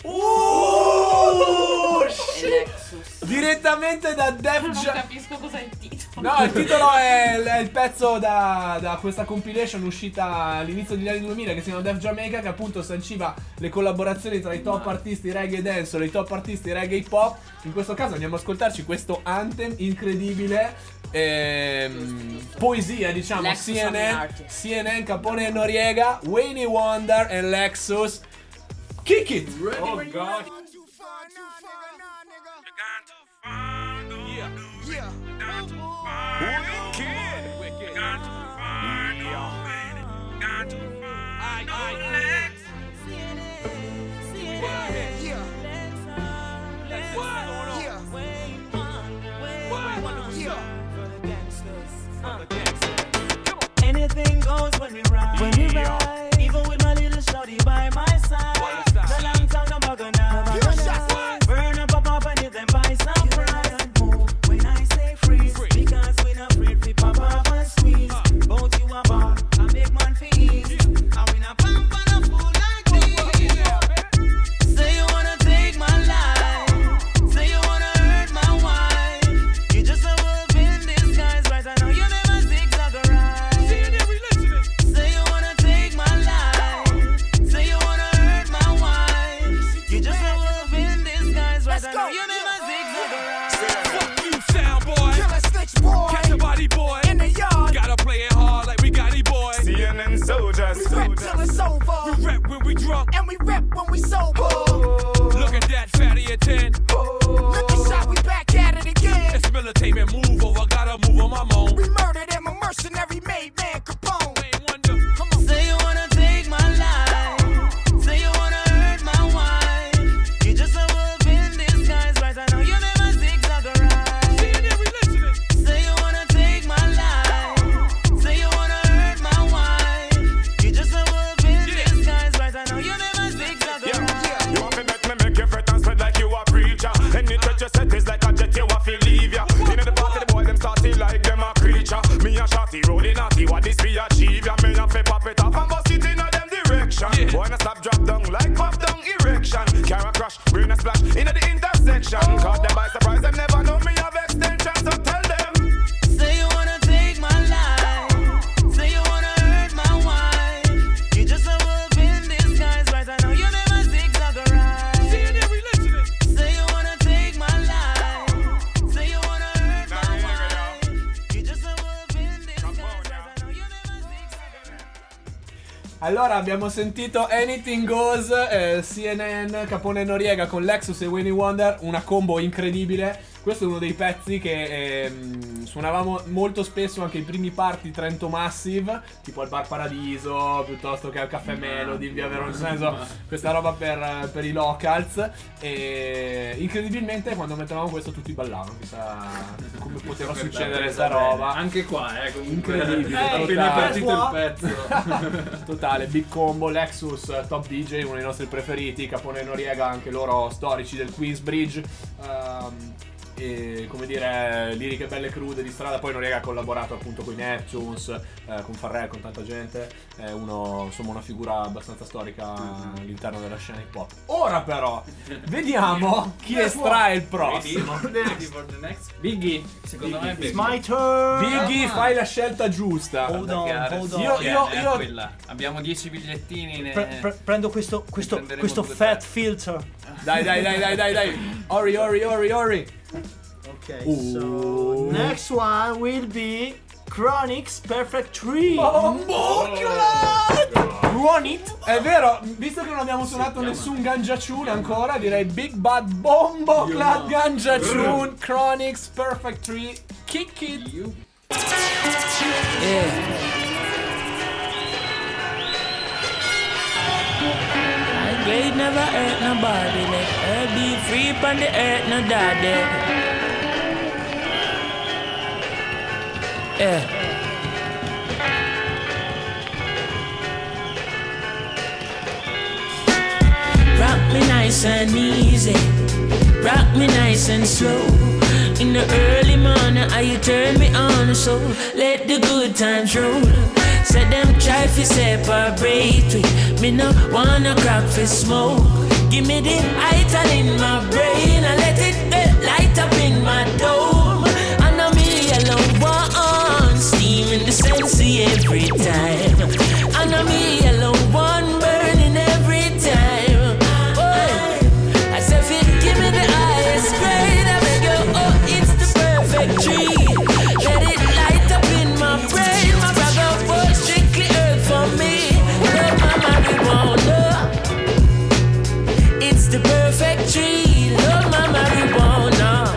Speaker 2: Oh,
Speaker 19: E Nexus.
Speaker 2: direttamente da Def
Speaker 19: Non
Speaker 2: Jam.
Speaker 19: capisco cos'è il titolo.
Speaker 2: No, il titolo è, è il pezzo da, da questa compilation uscita all'inizio degli anni duemila che si chiama Def Jamaica, che appunto sanciva le collaborazioni tra i top artisti reggae dance e i top artisti reggae hip hop. In questo caso andiamo a ascoltarci questo anthem incredibile, ehm, poesia diciamo,
Speaker 19: Lexus
Speaker 2: C N
Speaker 19: on the
Speaker 2: N,
Speaker 19: artist.
Speaker 2: C N N, Capone e Noriega, Wayne Wonder e Lexus. Kick it!
Speaker 5: Oh god.
Speaker 18: Anything goes when we ride. When we ride. Even with my little shorty by my side. No long time, no bugger now. Burn up, pop up, and hit them by some pride. Move when I say freeze. Because we not afraid we pop up and squeeze. Both you a ball, a big man for ease. And we not pump on a fool like this. Say you wanna take my life. Say you wanna hurt my wife. You just a wolf in disguise, right? I know you never zigzag a ride. Say you wanna take my life. Say you wanna hurt my wife. You just a wolf in disguise, right? I know you never zigzag a ride.
Speaker 8: Fuck you, sound boy.
Speaker 9: Killer snitch boy.
Speaker 8: Catch a body boy.
Speaker 9: In the yard.
Speaker 8: Gotta play it hard like we got it, boy.
Speaker 17: C N N soldiers.
Speaker 9: We rap till it's over.
Speaker 8: We rap when we drunk.
Speaker 9: And we rap when we sober.
Speaker 8: Look at that fatty at ten.
Speaker 9: Look at shot, we back at it again.
Speaker 8: It's military move over. Gotta move on my moan.
Speaker 9: We murdered him, a mercenary made man Capone.
Speaker 8: Wayne Wonder.
Speaker 9: Come on.
Speaker 18: Say you wanna take my life. Say you wanna hurt my wife. You just a wolf in disguise, right? I know you never zigzag a ride. Say you wanna take my life. Say you wanna hurt my wife. You just a wolf in disguise, right? I know you never zigzag a ride.
Speaker 17: You want to make me make you fret and spread like you a preacher. Any touch you set is like a jet, you have to leave ya. In the party, the boy them starting like them a creature. Me and Shotty rolling
Speaker 20: Wanna stop, drop down like pop down erection. Car crash, brain a splash in the intersection. Caught them by surprise, them never know me have extension. So tell them.
Speaker 18: Say you wanna take my life. Say you wanna hurt my wife. You just a wolf in disguise, right? I know you never zigzag a ride. Say you wanna take my life. Say you wanna hurt my wife. You just a wolf in disguise, right? I know you never zigzag a ride.
Speaker 2: Allora abbiamo sentito Anything Goes, eh, C N N, Capone Noriega con Lexus e Winnie Wonder, una combo incredibile. Questo è uno dei pezzi che ehm, suonavamo molto spesso anche i primi party Trento Massive, tipo al Bar Paradiso, piuttosto che al Caffè Melody, in via Verona, nel senso, questa roba per, per i locals. E incredibilmente quando mettevamo questo tutti ballavano, chissà come poteva succedere questa roba.
Speaker 1: Anche qua, eh, comunque
Speaker 2: incredibile.
Speaker 1: Eh, appena partito il pezzo.
Speaker 2: Totale, Big Combo, Lexus, Top D J, uno dei nostri preferiti, Capone Noriega, anche loro storici del Queensbridge. Um, e come dire, liriche belle crude di strada. Poi Noriega ha collaborato appunto con i Neptunes, eh, con Farrell, con tanta gente. È uno, insomma, una figura abbastanza storica all'interno della scena hip hop. Ora però vediamo chi estrae il prossimo.
Speaker 1: Biggie, secondo me
Speaker 4: It's my turn.
Speaker 2: Biggie, fai la scelta giusta.
Speaker 4: Hold on, hold on.
Speaker 2: Io, io, io
Speaker 1: quella. Abbiamo dieci bigliettini. Ne...
Speaker 4: Pre- pre- prendo questo, questo, questo fat filter.
Speaker 2: Dai, dai, dai, dai, dai, dai. Ori, ori, ori, ori.
Speaker 4: Okay,
Speaker 2: Uh.
Speaker 4: so next one will be Chronic's Perfect Tree.
Speaker 2: Oh, Run it. È vero, visto che non abbiamo suonato nessun Ganja Tune ancora, direi Big Bad Bombo Clad Ganja Tune, Chronic's Perfect Tree, kick it.
Speaker 18: Yeah. I grade never hurt nobody. Let her be free from the earth, no daddy. Yeah. Rock me nice and easy. Rock me nice and slow. In the early morning, how you turn me on, so let the good times roll. Said them try fi separate we. Me no wanna crack fi smoke. Give me the ital in my brain and let it uh, light up in my dome. I know me alone one steam in the sensei every time. I know me alone one burning every time. Oh, I said fi give me the highest grade. I beg you, oh, it's the perfect tree. Let it light up in my brain. My brother was strictly earth for me. Love my marijuana. It's the perfect tree. Love my marijuana.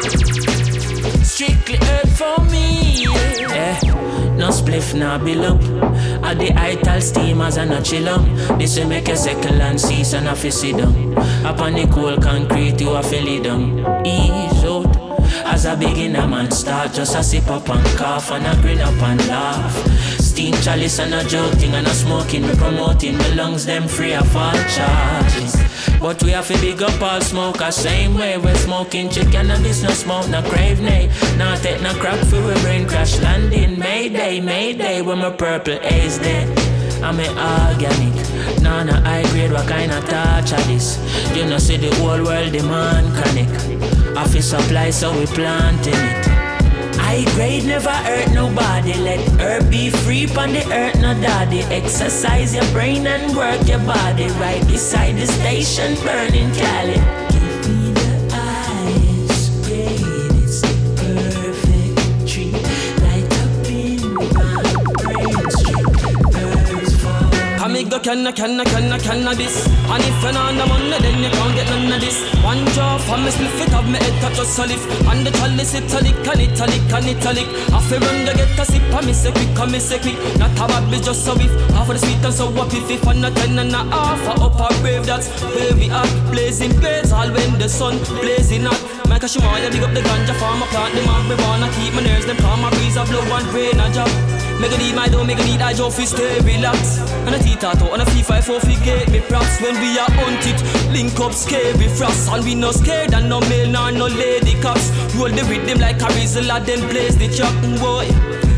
Speaker 18: Strictly earth for me. Yeah. No spliff, no below. All the ital steamers and no chill up. This will make a second and cease and a fi sit down. Up on the cold concrete you a fi lay down. Ease out. As a beginner man start just a sip up and cough and a grin up and laugh. Steam chalice and a joking and a smoking. We promoting the lungs them free of all charges. But we have to big up all smokers. Same way we're smoking chicken cannabis, no smoke, no crave, nay. Now take no crap for we brain crash landing. Mayday, mayday, when my purple haze there. I'm a organic, nah, nah, high grade, what kind of touch are this? You know see the whole world demand chronic. Office supply so we planting it. High grade never hurt nobody. Let her be free on the earth, no daddy. Exercise your brain and work your body. Right beside the station, burning Cali. Give me the ice grade, it's the perfect tree. Light up in my brain, straight birds fall.
Speaker 21: I make the canna, canna, canna, cannabis. And if you're not the money, then you can't get none of this. One jaw from me, split it up, me head touch just a lift. And the chalice, it a lick, and it a lick, and it a lick. Half a run, to get a sip, and me say quick, and me say quick. Not a bad bitch, just a whiff. Half of the sweet and sour piff, if and a ten and a half. A up a brave, that's where we at. Blazing blades, all when the sun blazing hot. Make a shimaya, dig up the ganja farm, a plant the marijuana. Keep my nerves, them calm, my breeze, a blow and rain, a job. Make a need my dough, make a need I job, fi stay relax. And a T-tato, and a fee five four, fi get me props. When we are on it, link up scary frost. And we no scared, and no male, nor no lady cops. Roll the rhythm like a Rizla, then blaze the chop, boy.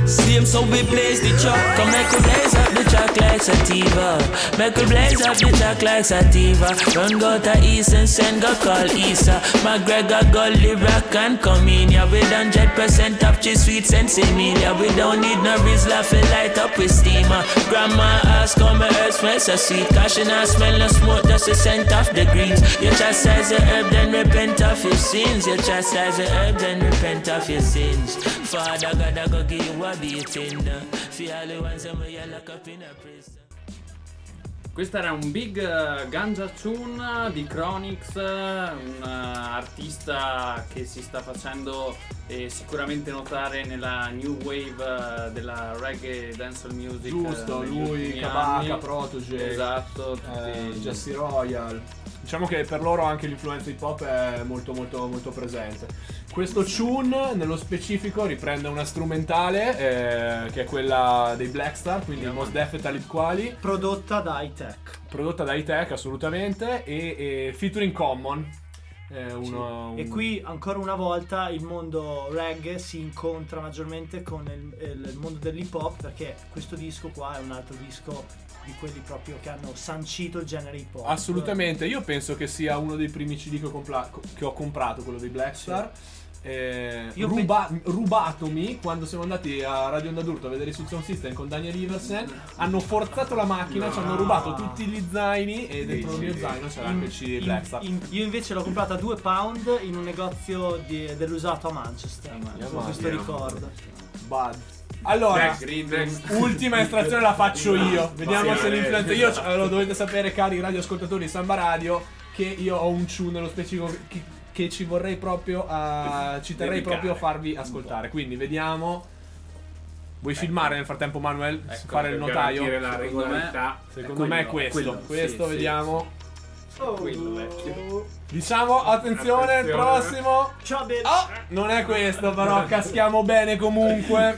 Speaker 21: Same so we blaze the truck. Come make we blaze up the track like sativa. Make we blaze up the track like sativa. Run go to east and send go call Isa. McGregor Gully rock and come in. Yeah, with one hundred percent of cheese sweets and similia. We don't need no Rizla for light up with steamer. Grandma ask how my earth smells so sweet. Cause she not smell no smoke, just a scent of the greens. You chastise the herb, then repent of your sins. You chastise the herb, then repent of your sins. Father God, I go give you a beating. For all the ones that you lock up in a prison.
Speaker 1: Questo era un big uh, ganja tune di Chronix, un uh, artista che si sta facendo eh, sicuramente notare nella new wave uh, della reggae dancehall music.
Speaker 2: Giusto,
Speaker 1: uh,
Speaker 2: lui, Kabaka, Protoje,
Speaker 1: esatto,
Speaker 2: eh, Jesse Royal. Diciamo che per loro anche l'influenza hip hop è molto molto molto presente. Questo tune nello specifico riprende una strumentale eh, che è quella dei Blackstar, quindi yeah, Mos Def e Talib Kweli,
Speaker 4: prodotta da Hi-Tech.
Speaker 2: Prodotta da Hi-Tech assolutamente e, e featuring Common. Eh, uno,
Speaker 4: sì.
Speaker 2: un...
Speaker 4: E qui ancora una volta il mondo reggae si incontra maggiormente con il, il mondo dell'hip hop, perché questo disco qua è un altro disco di quelli proprio che hanno sancito il genere hip hop.
Speaker 2: Assolutamente, io penso che sia uno dei primi C D che ho, compla- che ho comprato, quello dei Blackstar. Sì. Eh, ruba- pe- rubatomi quando siamo andati a Radio Onda d'Urto a vedere il Sound System con Daniel Iversen. Hanno forzato la macchina, no. Ci hanno rubato tutti gli zaini e dentro il mio zaino c'era anche il C D Blackstar.
Speaker 4: In, io invece l'ho comprata a due pound in un negozio di, dell'usato a Manchester. Yeah, con questo yeah, ricordo.
Speaker 2: Bad. Allora, next, ultima estrazione la faccio io. Vediamo se l'influenza. Io lo dovete sapere, cari radioascoltatori di Samba Radio, che io ho un tune nello specifico che, che ci vorrei proprio a, ci terrei
Speaker 1: dedicare,
Speaker 2: proprio a farvi ascoltare. Quindi vediamo. Vuoi ecco. filmare nel frattempo, Manuel?
Speaker 5: Ecco,
Speaker 2: fare il notaio?
Speaker 5: La
Speaker 2: secondo me, secondo me è questo. Quello, questo sì, vediamo. Sì.
Speaker 4: Oh, quello vecchio.
Speaker 2: Diciamo, attenzione, attenzione. Il prossimo.
Speaker 4: Ciao, bene.
Speaker 2: Oh, non è questo, però caschiamo bene comunque.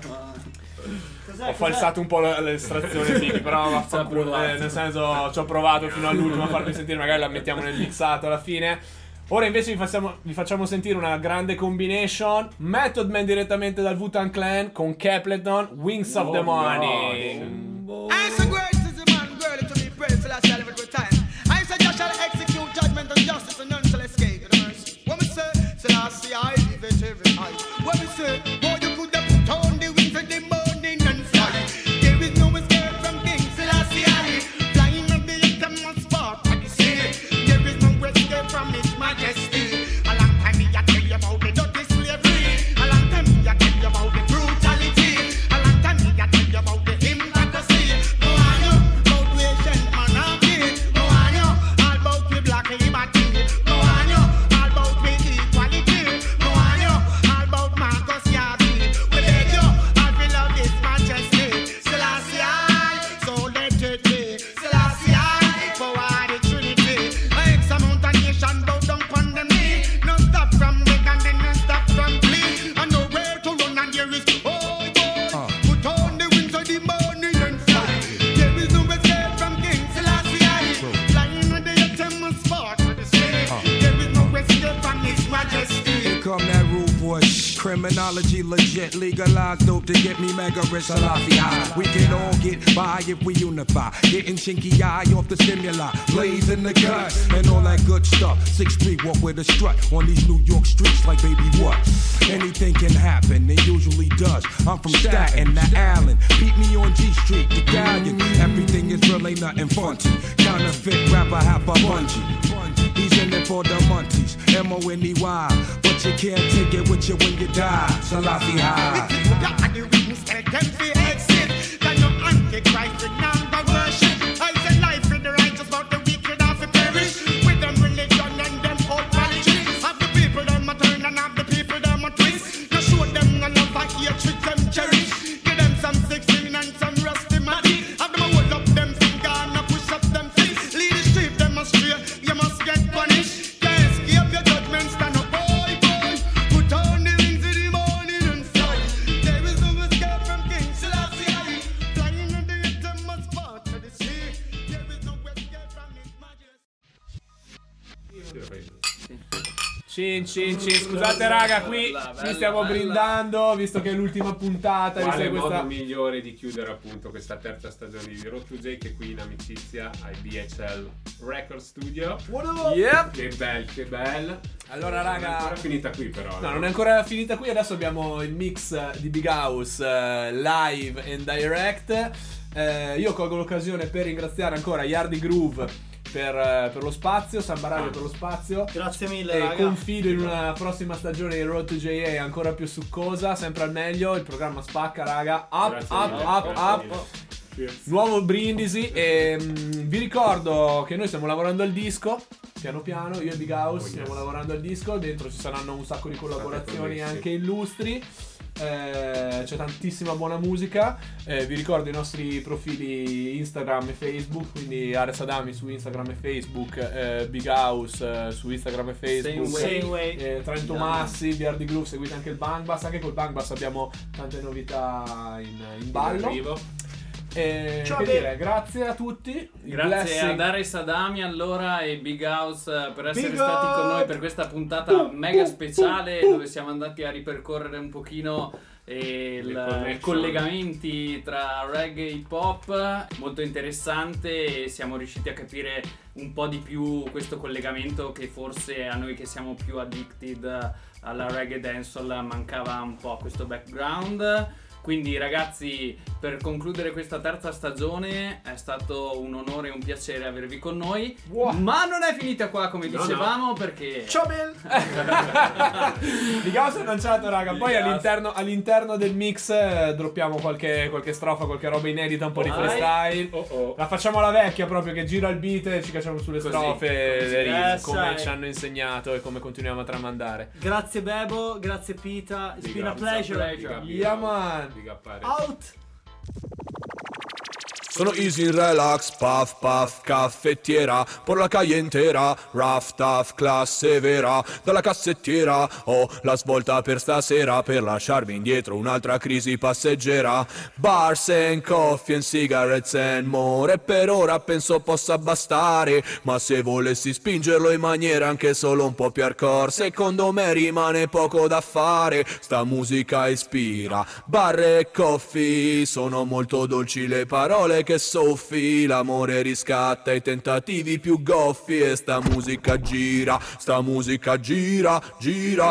Speaker 2: Ho falsato un po' l'estrazione, Fighi, però vaffanculo, eh, nel senso ci ho provato fino all'ultimo a farvi sentire, magari la mettiamo nel mixato alla fine. Ora invece vi facciamo, vi facciamo sentire una grande combination. Method Man direttamente dal Wu-Tang Clan con Capleton, Wings of the Morning.
Speaker 3: I say great is the man, girl, to be praised till I shall have it time. I say just shall execute judgment and justice and none shall escape the mercy. What me say, say I see I live it every night. What me say, boy you could have put on the wings of the morning and fly. There is no escape from things till I see I flying on the utmost spot. What you say, there is no escape from His Majesty. A long time me I tell you about the dirty slavery. A long time me I tell you about the brutality. A long time me I tell you about the hypocrisy. No I know about Asian monarchy. No I know all about the black liberty. No I know all about the equality. No I know all about Marcus Garvey. We beg you, all we love His Majesty. Selassie I, so let it be. Selassie I, for the Trinity. X amount of nation bow down upon them knee. No stop from beg and then no stop from plea. And nowhere to run and there is oh boy. Put on the wings of the morning and fly. There is no escape from King Selassie I. Flying on the utmost spot of the sky. There is no escape from His Majesty.
Speaker 22: Here come that rude boy. Criminology legit, legalized dope to get me mega rich. Salafi high. We can all get by if we unify. Getting chinky eye off the stimuli, blaze in the gut, and all that good stuff. Six three, walk with a strut on these New York streets like baby what? Anything can happen, it usually does. I'm from Staten to Allen. Beat me on G Street, the Galleon. Everything is real, ain't nothing funky. Counterfeit rapper, half a bungee. He's in it for the munchies, M O N E Y. But you can't take it with you when you die. Salafi high.
Speaker 3: God, the wings take them for exit. Can no antichrist with number worship. I say life in the righteous, but the wicked have to perish. With them religion and them old politics. Have the people them a turn and have the people them a twist. No show them no love, I hatred them cherish. Give them some sixteen and some rusty matty. Have them a hold up them finger and a push up them feet. Lead the street them astray, you must get punished. Can't escape your judgment, stand up, boy, boy. Put on the wings of the morning and fly. There is no escape from King Selassie. Flying on the utmost
Speaker 2: Cin, cin, cin. Scusate raga, qui
Speaker 1: Bella,
Speaker 2: ci
Speaker 1: bella,
Speaker 2: stiamo
Speaker 1: bella.
Speaker 2: brindando, visto che è l'ultima puntata. visto
Speaker 5: Quale
Speaker 2: che
Speaker 5: modo
Speaker 2: questa...
Speaker 5: migliore di chiudere appunto questa terza stagione di Road to J che qui in amicizia ai B H L Record Studio.
Speaker 2: Yep.
Speaker 5: Che bel, che bel.
Speaker 2: Allora
Speaker 5: Non è
Speaker 2: raga,
Speaker 5: ancora finita qui però.
Speaker 2: no, non è ancora finita qui. Adesso abbiamo il mix di Big House eh, live and direct. Eh, io colgo l'occasione per ringraziare ancora Yardi Groove per, eh, per lo spazio, Samba Radio per lo spazio.
Speaker 4: Grazie mille,
Speaker 2: E
Speaker 4: raga.
Speaker 2: confido in una prossima stagione di Road to J A ancora più succosa, sempre al meglio. Il programma spacca, raga. Up,
Speaker 5: Grazie
Speaker 2: up,
Speaker 5: mille,
Speaker 2: up,
Speaker 5: grazie
Speaker 2: up.
Speaker 5: mille. Cheers.
Speaker 2: Nuovo Brindisi. E mm, vi ricordo che noi stiamo lavorando al disco. Piano piano, io e Big House
Speaker 5: Oh, yes.
Speaker 2: stiamo lavorando al disco. Dentro ci saranno un sacco di collaborazioni
Speaker 5: connessi.
Speaker 2: anche illustri. Eh, c'è tantissima buona musica. Eh, vi ricordo i nostri profili Instagram e Facebook, quindi Ares Adami su Instagram e Facebook, eh, Big House eh, su Instagram e Facebook,
Speaker 1: Same way.
Speaker 4: Same way.
Speaker 2: eh, Trento
Speaker 1: Yeah.
Speaker 2: Massi, B R D Groove, seguite anche il Bang Bass. Anche col Bang Bass abbiamo tante novità in, in ballo.
Speaker 5: Arrivo.
Speaker 2: E
Speaker 4: Ciao,
Speaker 2: che
Speaker 4: Be-
Speaker 2: dire, grazie a tutti. Il
Speaker 1: Grazie
Speaker 2: blessing-
Speaker 1: ad Ares Adami allora e Big House eh, per essere
Speaker 4: Big
Speaker 1: stati con
Speaker 4: up!
Speaker 1: noi per questa puntata mega speciale dove siamo andati a ripercorrere un pochino eh, il-
Speaker 5: Le connection.
Speaker 1: i collegamenti tra reggae e hip hop, molto interessante, e siamo riusciti a capire un po' di più questo collegamento che forse a noi che siamo più addicted alla reggae dancehall mancava un po' questo background. Quindi ragazzi, per concludere questa terza stagione è stato un onore e un piacere avervi con noi.
Speaker 2: Wow.
Speaker 1: Ma non è finita qua come
Speaker 5: No,
Speaker 1: dicevamo perché...
Speaker 4: Ciao Bill.
Speaker 2: Big House è lanciato, raga. Poi
Speaker 1: Big House.
Speaker 2: all'interno, all'interno del mix eh, droppiamo qualche, qualche strofa, qualche roba inedita, un po' di
Speaker 1: Vai.
Speaker 2: freestyle.
Speaker 5: Oh oh.
Speaker 2: La facciamo alla vecchia proprio, che gira il beat e ci cacciamo sulle
Speaker 1: Così,
Speaker 2: strofe
Speaker 1: così.
Speaker 2: le rime,
Speaker 4: Yes,
Speaker 2: come
Speaker 4: sai.
Speaker 2: ci hanno insegnato e come continuiamo a tramandare.
Speaker 4: Grazie Bebo, grazie Pita. It's
Speaker 5: Big
Speaker 4: been a
Speaker 5: up,
Speaker 4: pleasure.
Speaker 1: pleasure.
Speaker 5: Big up, big
Speaker 2: Yeah,
Speaker 5: up.
Speaker 2: man.
Speaker 5: Big up, Ares.
Speaker 4: Out.
Speaker 22: Sono easy relax, puff puff, caffettiera, por la calle intera, rough tough, classe vera, dalla cassettiera, ho la svolta per stasera, per lasciarmi indietro un'altra crisi passeggera, bars and coffee and cigarettes and more, e per ora penso possa bastare, ma se volessi spingerlo in maniera anche solo un po' più hardcore, secondo me rimane poco da fare, sta musica ispira, bar e coffee, sono molto dolci le parole che soffi, l'amore riscatta i tentativi più goffi e sta musica gira, sta musica gira, gira.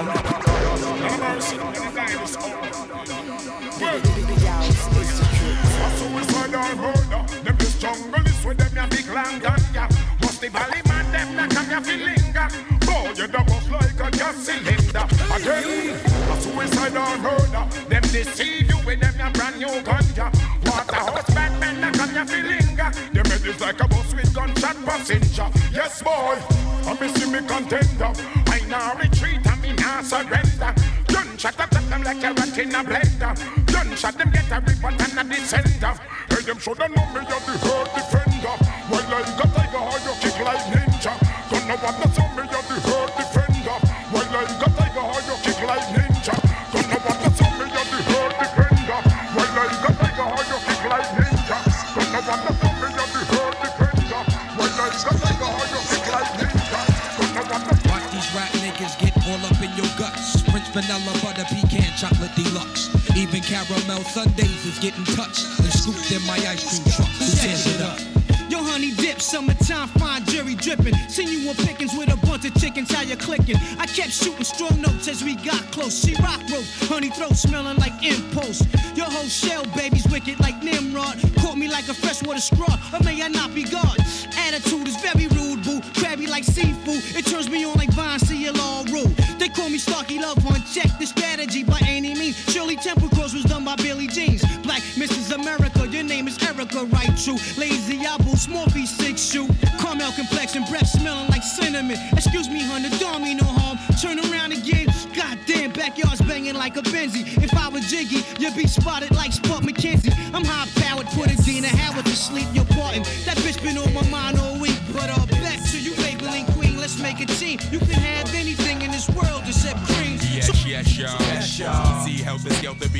Speaker 8: Suicidal murder, them this jungle is with them ya big land gun ya. Must the valley man them not come ya feel linger. Boy, you da bust like a gas cylinder. Again, a suicidal murder, them deceive you with them ya brand new gun ya. Waterhouse bad men not come ya feel linger. Them head is like a bus with gunshot passenger. Yes boy, I miss me contender. I now retreat and me now surrender. Gunshot up them like a rat in a blender. Gunshot them get a report and a descender. Hey, them shoulda know me a the hurt defender. Well, like a tiger, how you kick like ninja. Don't know what to say me a the hurt defender. Well, like a tiger, how you kick like ninja. Don't know what to say me a the hurt defender. Well, like a tiger, how you kick like ninja. Don't know what to say me a the hurt defender. Well, like a tiger, how you kick like ninja. Don't know what to say.
Speaker 22: Watch these rap niggas get all up in your guts. French vanilla butter pecan chocolate deluxe. Even caramel sundaes is getting touched and scooped in my ice cream truck. Who tears it up?
Speaker 9: Yo, honey dip, summertime, fine jury dripping. Seen you on pickings with a bunch of chickens, how you clicking? I kept shooting strong notes as we got close. She rock rope, honey throat smelling like impulse. Your whole shell, baby's wicked like Nimrod. Caught me like a freshwater straw, or may I not be God? Attitude is very rude, boo. Crabby like seafood. It turns me on like Vine, see it all rule. They call me Starkey Love One. Check the strategy by any means. Shirley Temple Cross was done by Billie Jeans. Black Missus America, your name is Erica, right? True. Lazy Apple, Smorphy, six shoe. Caramel complexion, breath smelling like cinnamon. Excuse me, hun, the dog me no harm. Turn around again. Goddamn, backyard's banging like a Benzie. If I was Jiggy, you'd be spotted like Spot McKenzie. I'm high powered, put a Dina Howard to sleep. You're parting. That bitch been on my mind all week. But uh, back to you, labeling queen. Let's make a team. You can have anything in this world except creams.
Speaker 22: Yes, yes, y'all. Yes, y'all. See, health is to be the best.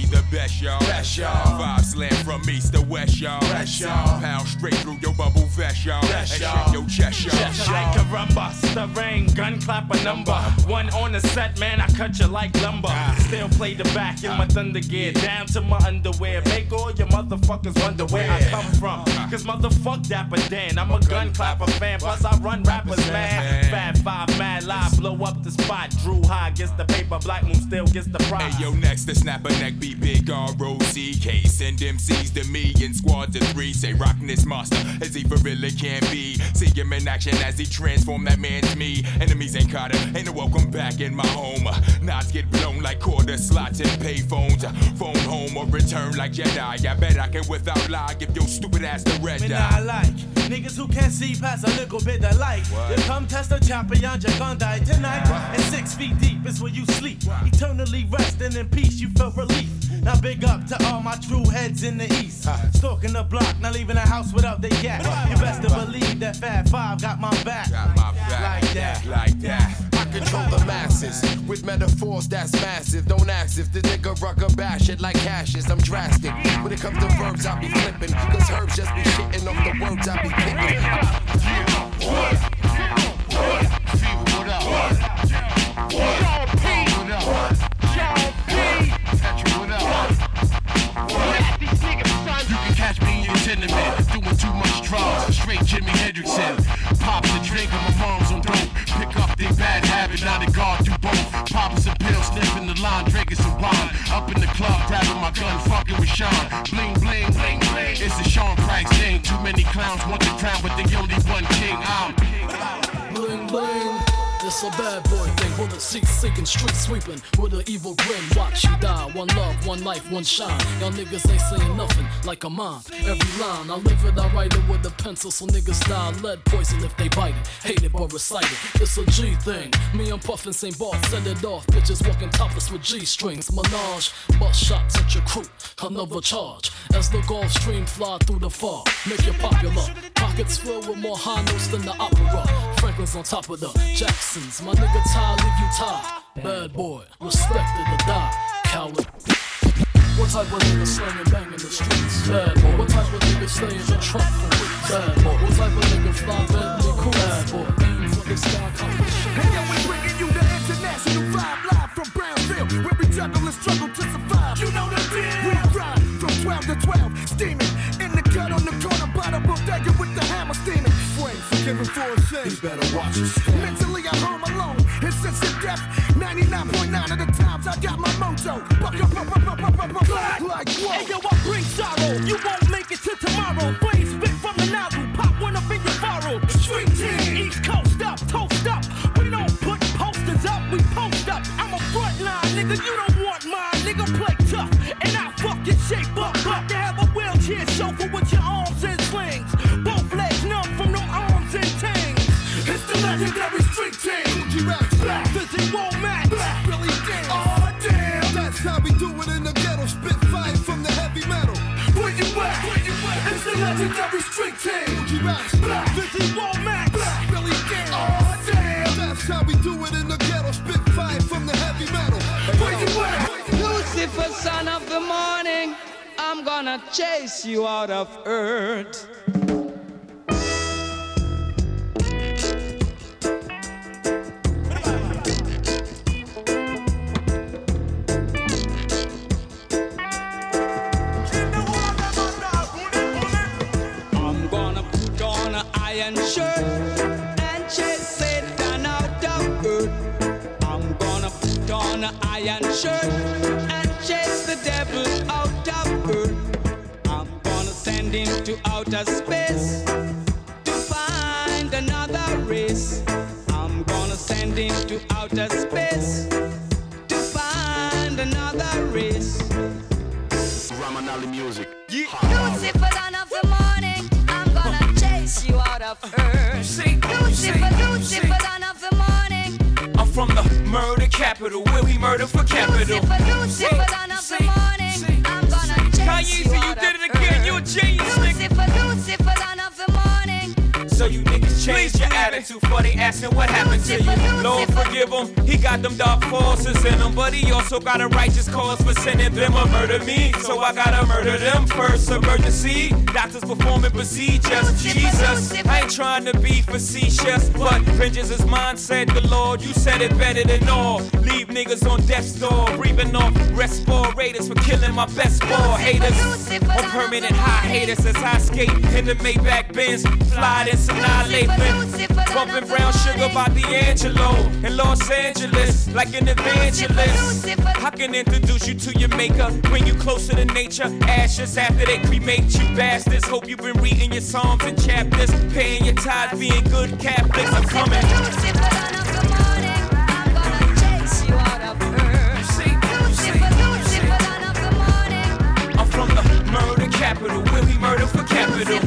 Speaker 17: best, y'all.
Speaker 9: Best, y'all.
Speaker 17: Five slam from east to west, y'all.
Speaker 9: West, y'all.
Speaker 17: Pound straight through your bubble vest, y'all.
Speaker 9: Best,
Speaker 17: And
Speaker 9: y'all.
Speaker 17: shake your chest, y'all.
Speaker 9: Chest, y'all.
Speaker 7: Like a rumba, stirring, gun clap a number. One on the set, man, I cut you like lumber. Still play the back in my thunder gear, down to my underwear. Make all your motherfuckers wonder where I come from. Cause motherfuck Dapper Dan, I'm a gun clapper fan. Plus I run rappers mad. Fat Five, mad live, blow up the spot. Drew High gets the paper, Black Moon still gets the prize.
Speaker 17: Hey yo, next the snapper neck be big R O C K. Send M Cs to me in squads of three. Say rockin' this monster as he for really can be. See him in action as he transform that man to me. Enemies ain't caught him, ain't no welcome back in my home. Knots get blown like quarter slots and pay phones. Phone home or return like Jedi. I bet I can without lie give your stupid ass the red
Speaker 9: Me
Speaker 17: dye.
Speaker 9: not like niggas who can't see past a little bit of light. You come test the champion, you're gonna die tonight. And six feet deep is where you sleep. Eternally resting in peace, you feel relief. Now big up to all my true heads in the east. Stalking the block, not leaving the house without the yak. You best to believe that Fat Five got my back.
Speaker 17: Got my back.
Speaker 9: Like that.
Speaker 17: Like that.
Speaker 11: I control the masses with metaphors that's massive. Don't ask if the nigga rucker bash it like Cassius. I'm drastic. When it comes to verbs, I be flipping. Cause herbs just be shitting off the words I be kicking. What? What? What up? What? What up? What up? You can catch me in your tenement, doing too much drugs, straight Jimi Hendrixin. Pops a drink and my mom's on dope. Pick up their bad habit, now they guard do both. Popping a pill, sniffing the line, drinking some wine. Up in the club, grabbing my gun, fucking with Sean. Bling, bling, bling, bling. It's the Sean Price thing. Too many clowns want the crown, but they only one king. I'm
Speaker 23: Bling, bling. It's a bad boy thing, with a seat seeking, street sweeping, with an evil grin. Watch you die, one love, one life, one shine. Y'all niggas ain't saying nothing like a mine. Every line, I live it, I write it with a pencil, so niggas die lead poison if they bite it. Hate it but recite it, it's a G thing. Me and Puffin Saint Bart set it off, bitches walking topless with G strings. Menage, bust shots at your crew, another charge. As the Gulf Stream fly through the fog, make it popular. Pockets filled with more high notes than the opera. Franklin's on top of the Jackson. My nigga Ty, leave you tied. Bad boy, respected to die. Coward. What type of nigga slang and bang in the streets? Bad boy. What type of nigga stay in the trunk for weeks? Bad boy. What type of nigga fly Bentley cool? Bad boy. Aim for the sky competition.
Speaker 9: Hey yo, we're bringing you the international vibe live from Brownville, where we juggle and struggle to survive. You know the deal. We ride from twelve to twelve, steaming in the cut on the corner, bottom bodega with the hammer steaming. Wait, forgiven for a sin. You better watch it. Mentally, I'm home alone. And since the death, ninety-nine point nine of the times I got my mojo. Buck up, up, up, up, up, up, up, like, like whoa. Hey yo, I bring sorrow. You won't make it till tomorrow. Flames spit from the nozzle. Pop one up in your bottle. Street team, East Coast up, toast up. We don't put posters up, we post up. I'm a front line, nigga. You don't want mine, nigga. Play tough, and I fucking shape up. Up to have a wheelchair chauffeur with your arms and slings. Both legs numb from them arms and tings. It's the legendary street team. Gucci Rap, black, Fizzy won't match. Black, Billy Dan, oh damn. That's how we do it in the ghetto. Spit fire from the heavy metal. Where you at? Where you at? It's the legendary street team. Gucci Rap, black, Fizzy won't match. Black, Billy Dan, oh damn. That's how we do it in the ghetto. Spit fire from the heavy metal. Where you at?
Speaker 21: Lucifer, son of the morning, I'm gonna chase you out of earth. I'm gonna put on an iron shirt and chase Satan out of earth. I'm gonna put on an iron shirt and chase the devil out of earth. I'm gonna send him to outer space to find another race. I'm gonna send him to outer space to find another race.
Speaker 11: Ramanali music.
Speaker 24: Lucifer, dawn of the morning, I'm gonna chase you out of earth. Lucifer, Lucifer, dawn of the morning.
Speaker 25: I'm from the murder capital, where we murder for capital.
Speaker 24: Lucifer, Lucifer, dawn of the morning, I'm gonna chase you out of earth.
Speaker 25: You did it again, you're a genius,
Speaker 24: Lucifer, Lucifer, dawn of the morning.
Speaker 25: So So you niggas change your attitude for they asking what happened to you. Lord forgive him, he got them dark forces in him, but he also got a righteous cause for sending them to murder me. So I gotta murder them first. Emergency, doctors performing procedures. Jesus, I ain't trying to be facetious, but vengeance is mine, said the Lord. You said it better than all. Leave niggas on death's door, breathing off respirators for killing my best ball haters. On permanent high haters as I skate in the Maybach Benz, fly in Sinai Lathan, bumping brown sugar by D'Angelo in Los Angeles like an evangelist. I can introduce you to your maker, bring you closer to nature. Ashes after they cremate you bastards. Hope you've been reading your psalms and chapters, paying your tithes, being good Catholics. I'm coming. I'm from the murder capital, where we murder for capital.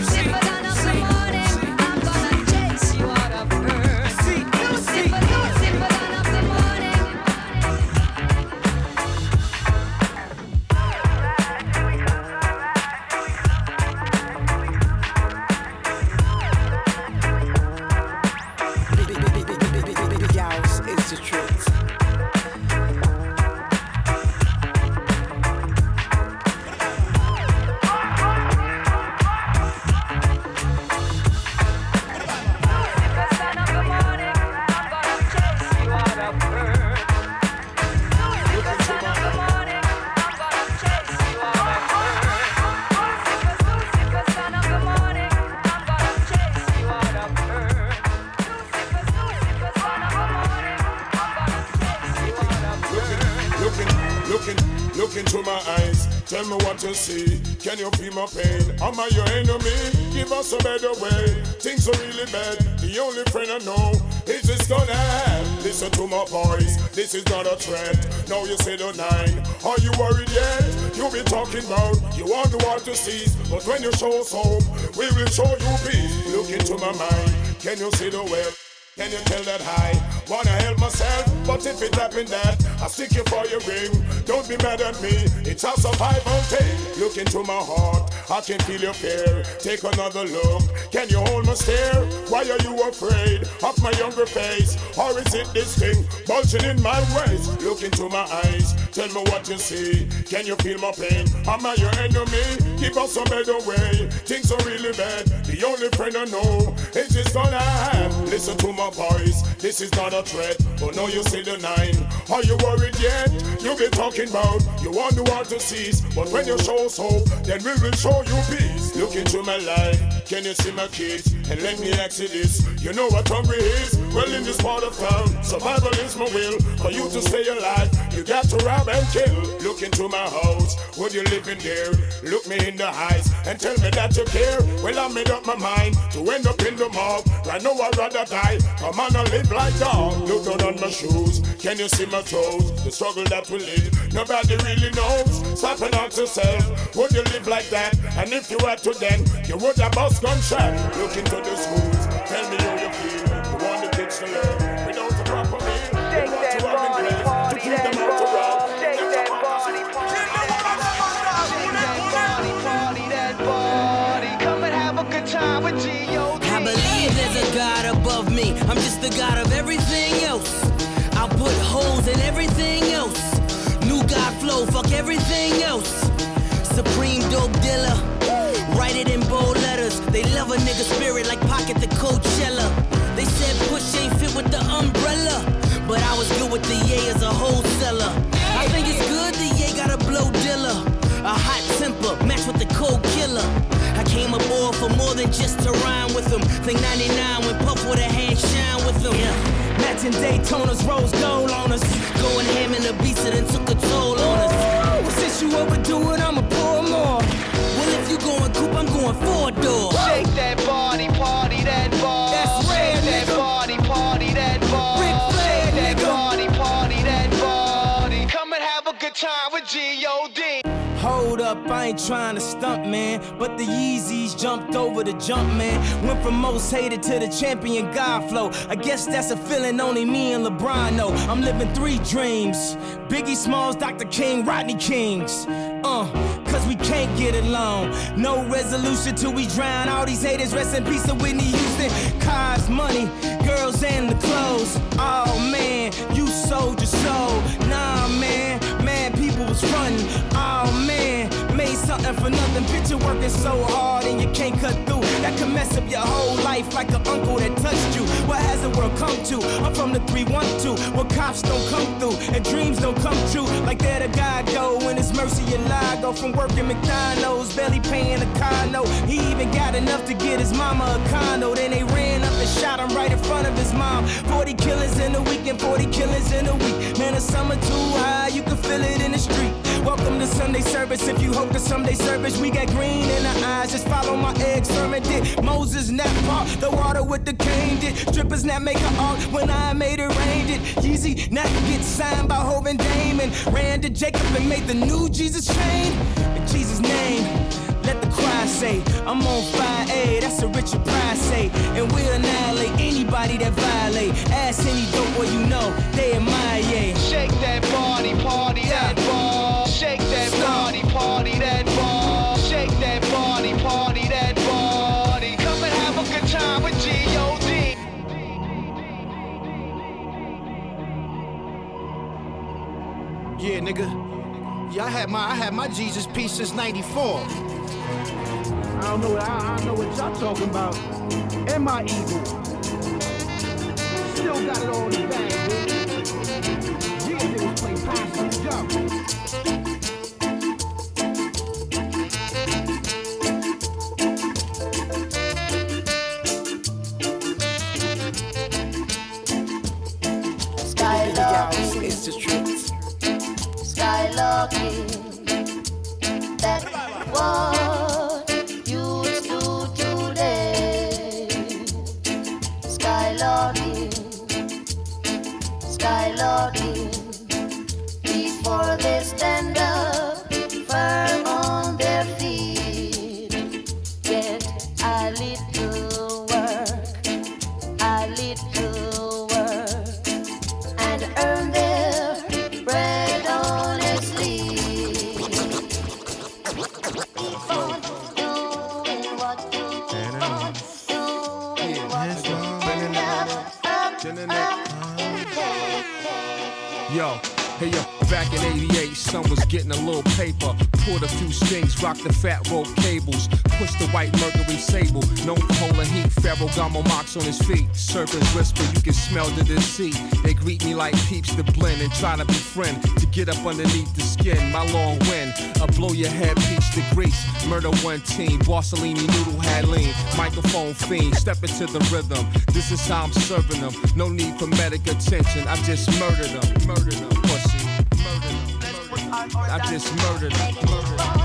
Speaker 6: Tell me what you see, can you feel my pain? Am I your enemy? Give us a better way. Things are really bad, the only friend I know is this gonna end. Listen to my voice, this is not a threat. Now you say the nine, are you worried yet? You be talking about, you want the world to cease, but when you show us hope, we will show you peace. Look into my mind, can you see the web? Can you tell that I wanna help myself? But if it happened that I stick you for your ring, don't be mad at me, it's a survival thing. Look into my heart, I can feel your fear. Take another look, can you hold my stare? Why are you afraid of my younger face? Or is it this thing bulging in my waist? Look into my eyes, tell me what you see. Can you feel my pain? Am I your enemy? Give us a better way. Things are really bad, the only friend I know is this gonna have. Listen to my voice, this is not a threat. Oh no, you see the nine, are you worried yet? You be talking about, you want the world to cease, but when you show us hope, then we will show you peace. Look into my life, can you see my kids? And let me ask you this, you know what hungry is? Well, in this part of town, survival is my will. For you to stay alive, you got to rob and kill. Look into my house, would you live in there? Look me in the eyes and tell me that you care. Well, I made up my mind to end up in the mob. Right now I'd rather die, come on and live like dog. Look down on my shoes, can you see my toes? The struggle that we live, nobody really knows. Stop and ask yourself, would you live like that? And if you had to then, you would have bust gunshot. Look into the schools, tell me how you feel. You want the kids to learn without a proper meal. You want to rock and dress, to keep them out to rock. Shake that body, party that body. Come and have a good time with G O D.
Speaker 21: I believe there's a God above me. I'm just the God of everything else. I'll put holes in everything else. New God flow, fuck everything else. Supreme dope dealer. Write it in bold letters. They love a nigga spirit like Pocket the Coachella. They said push ain't fit with the umbrella, but I was good with the Ye as a wholesaler. I think it's good the Ye got a blow dealer. A hot temper, match with the cold killer. I came aboard for more than just to rhyme with them. Think ninety-nine when Puff with a hand shine with them. Yeah. Matching Daytonas, rose gold on us. Going ham in the beats and then took a toll on us. Well, since you overdo it, I'ma pour more. Well, if you going coupe, I'm going four door.
Speaker 3: Shake that body, party that ball.
Speaker 21: That's rare,
Speaker 3: Shake that
Speaker 21: nigga.
Speaker 3: body, party that ball.
Speaker 21: Ric Flair,
Speaker 3: Shake that
Speaker 21: nigga.
Speaker 3: body, party that body. Come and have a good time with G O D.
Speaker 21: Hold up, I ain't trying to stunt, man. But the Yeezys jumped over the jump, man. Went from most hated to the champion God flow. I guess that's a feeling only me and LeBron know. I'm living three dreams. Biggie Smalls, Doctor King, Rodney Kings. Uh,
Speaker 10: cause we can't get along. No resolution till we drown all these haters. Rest in peace to Whitney Houston. Cars, money, girls, and the clothes. Oh man, you sold your soul. Nah man, man, people was frontin'. Oh man, made something for nothing. Picture working so hard and you can't cut through. That can mess up your whole life like an uncle that touched you. What has the world come to? I'm from the three one two, where cops don't come through and dreams don't come true. Like that a guy go when it's mercy and lie. Go from working McDonald's, barely paying a car note. He even got enough to get his mama a condo. Then they ran up and shot him right in front of his mom. Forty killings in a week and forty killings in a week. Man, the summer too high, you can feel it in the street. Welcome to Sunday service. If you hope to someday service, we got green in our eyes. Just follow my egg sermon. Did Moses not part the water with the cane? Did strippers not make an art when I made it rain? Did Yeezy not get signed by Hov and Damon? Ran to Jacob and made the new Jesus chain? In Jesus' name, let the choir say, I'm on fire, A, that's a Richard Pryor say. And we'll annihilate anybody that violate. Ask any dope boy you know, they admire, yeah.
Speaker 12: Shake that body, party
Speaker 10: yeah.
Speaker 12: that ball. Shake that body, party that ball. Shake that body, party that body. Come and have a good time with G O D.
Speaker 13: Yeah, nigga. Yeah, I had my I had my Jesus piece since ninety-four. I don't know. I, I don't know what y'all talking about. Am I evil? Still got it all in the bag, dude. Yeah, niggas play possum jump.
Speaker 24: Skylarking,
Speaker 13: it's the truth.
Speaker 24: Skylarking, that's what you do today. Skylarking, Skylarking, before they stand up firm on their feet. Get a little work, a little work, and earn their bread honestly. Keep on doing what you want, doing what you want. Up, up,
Speaker 22: Yo, hey yo, back in eighty-eight, son was getting a little paper. Poured a few strings, rocked the fat rope cables. Pushed the white Mercury Sable, known for holding heat. Ferragamo mocks on his feet. Serpents whisper, you can smell the deceit. They greet me like peeps to blend and try to befriend. To get up underneath the skin, my long wind. I blow your head, peach to grease. Murder one team, Borsellini noodle had lean. Microphone fiend, step into the rhythm. This is how I'm serving them. No need for medic attention, I just murdered them. Murdered them, pussy. Murdered them. Murdered them. I just murdered them. Murdered them.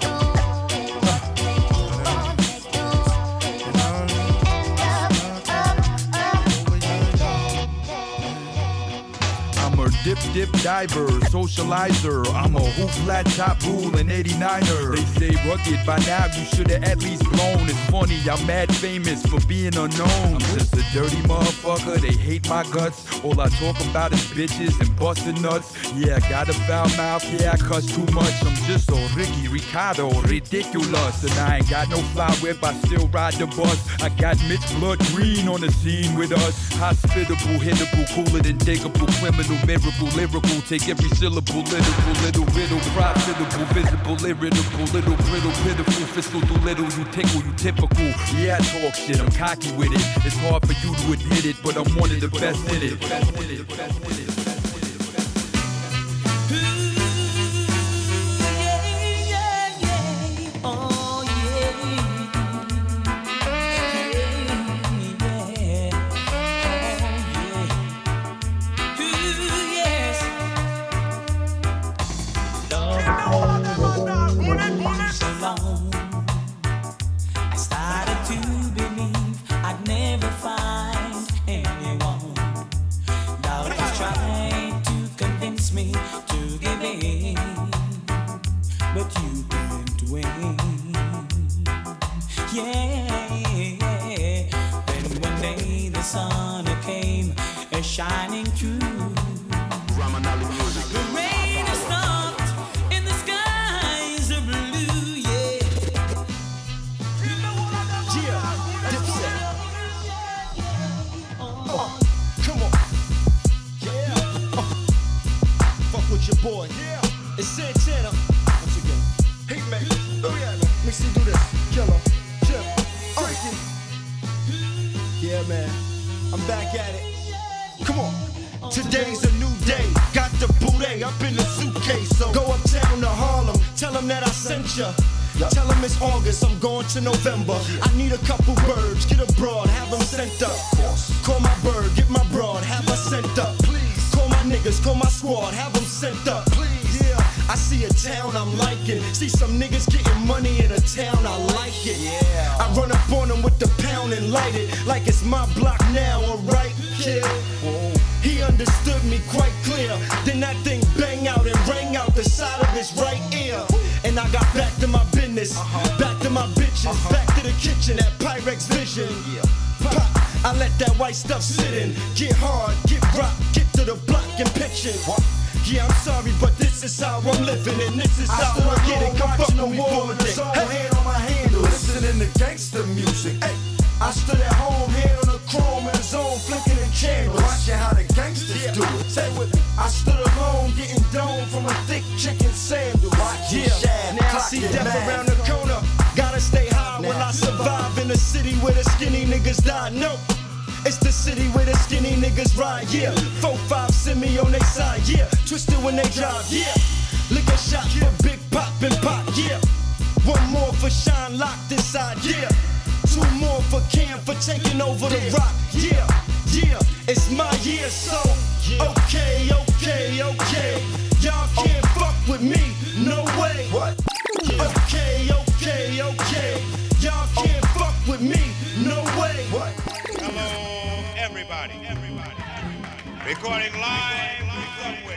Speaker 14: Dip, dip, diver, socializer. I'm a hoop flat top rule and eighty-niner. They say rugged, by now you should've at least blown. It's funny, I'm mad famous for being unknown. I'm just a dirty motherfucker, they hate my guts. All I talk about is bitches and busting nuts. Yeah, I got a foul mouth, yeah, I cuss too much. I'm just so Ricky Ricardo, ridiculous. And I ain't got no fly whip, I still ride the bus. I got Mitch Blood Green on the scene with us. Hospitable, hittable, cooler than diggable, criminal, miracle. Lyrical, take every syllable, literal, little riddle, profitable, visible, irritable, little brittle, pitiful, fiscal, do little, you tickle, you typical. Yeah, I talk shit, I'm cocky with it. It's hard for you to admit it, but I'm one of the best in it. Best in it, best in it.
Speaker 21: I started to believe I'd never find anyone. Doubters tried to convince me to give in, but you couldn't win. Yeah, then one day the sun came shining through. The rain has stopped and the skies are blue.
Speaker 15: man. I'm back at it. Come on. Today's a new day. Got the booty up in the suitcase. So go uptown to Harlem. Tell them that I sent ya. Tell them it's August, I'm going to November. I need a couple birds, get a broad, have them sent up. Call my bird, get my broad, have her sent up. Call my niggas, call my squad, have them sent up. Yeah, I see a town I'm liking. See some niggas getting money in a town, I like it. Yeah. I run up on them with the pound and light it like it's my block now, alright, kid? He understood me quite clear. Then that thing bang out and rang out the side of his right ear. And I got back to my business, uh-huh. back to my bitches, uh-huh. back to the kitchen at Pyrex Vision. Yeah. Pop, I let that white stuff sit in. Get hard, get rock, get to the block and pitching. Yeah, I'm sorry, but this is how I'm living, and this is how I, I get it. Come fuck with me with it. Hey, hand on my handle, listening to gangster music. Hey, I stood at home, hand on the chrome in the zone, flicking the candles. Watching how the gangsters yeah. do it. Say with me. I stood alone, getting domed from a thick chicken sandal. Yeah, now I see death man. around the corner. Gotta stay high now. When I survive in a city where the skinny niggas die. No. It's the city where the skinny niggas ride, yeah. Four, five, send me on they side, yeah. Twisted when they drive, yeah. Liquor shot for Big Pop and Pop, yeah. One more for Shine locked inside, yeah. Two more for Cam for taking over the rock, yeah. Yeah, it's my year, so okay, okay, okay. Y'all can't fuck with me, no way. What? Okay, okay, okay. Y'all can't fuck with me, no way. What?
Speaker 16: Hello, everybody. Everybody. Recording live from somewhere.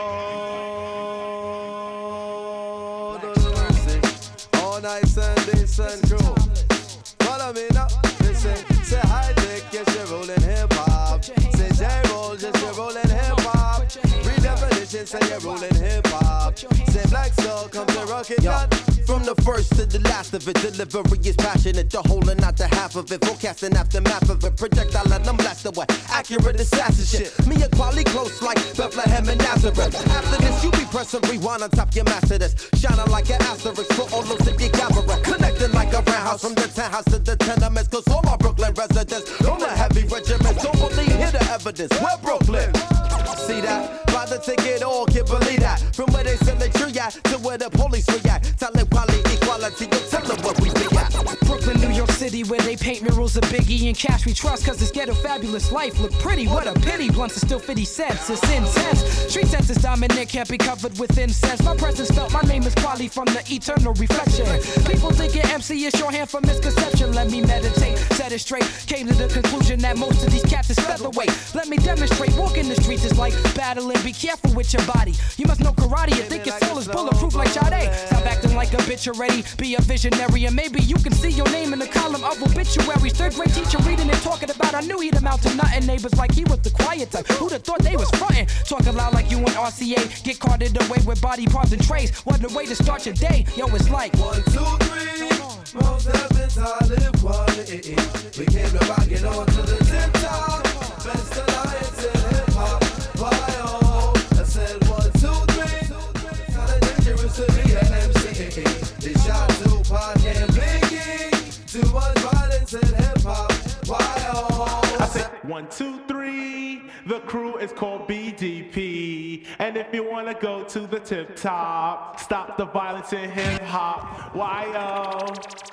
Speaker 18: Lord of mercy. All night Sunday, sun crew. Follow me now. Listen, say high tech, yes, you're rolling hip hop. Say J roll, yes, you're rolling hip hop. Redefinition, say you're rolling hip hop. Say Black Soul, come to rock it down.
Speaker 19: From the first to the last of it, delivery is passionate. The whole and not the half of it. Forecasting aftermath of it. Projectile let them blast away. Accurate assassin shit. Me and quality close like Bethlehem and Nazareth. After this, you be pressing rewind on top your master this. Shining like an asterisk for all those in your camera. Connecting like a roundhouse from the townhouse to the tenements. Cause all my Brooklyn residents on the heavy regiments. Don't believe, hear the evidence. We're Brooklyn. See that? By the ticket, all can't believe that. From where they send the tree at to where the police react. Tell them quality, equality, you tell them what we be at.
Speaker 20: Brooklyn, New York City, where they paint murals of Biggie and Cash we trust. Cause this ghetto fabulous life look pretty. What a pity. Blunts are still fifty cents. It's intense. Street sense is dominant, can't be covered with incense. My presence felt, my name is Quali from the eternal reflection. People thinking M C is shorthand for misconception. Let me meditate, set it straight. Came to the conclusion that most of these cats is featherweight. Let me demonstrate. Walking the streets is like battling. Be careful with your body. You must know karate. You think your soul is bulletproof like Sade. Stop acting like a bitch already. Be a visionary, and maybe you can see your name in the column of obituaries. Third grade teacher reading and talking about. I knew he'd amount to nothing. Neighbors like he was the quiet type. Who'd have thought they was frontin'? Talking loud like you and R C A. Get carted away with body parts and trays. What a way to start your day. Yo, it's like
Speaker 18: one, two, three. Most heavens I live quality. We came to rock it on to the tip top. Best alliance in hip hop. Why oh? I said one, two, three. Kinda dangerous to be an M C. They shot Tupac and Biggie. Too much violence in hip hop. Why oh?
Speaker 16: I said one, two, three. The crew is called B D P. And if you wanna go to the tip top, stop the violence in hip hop. Why oh?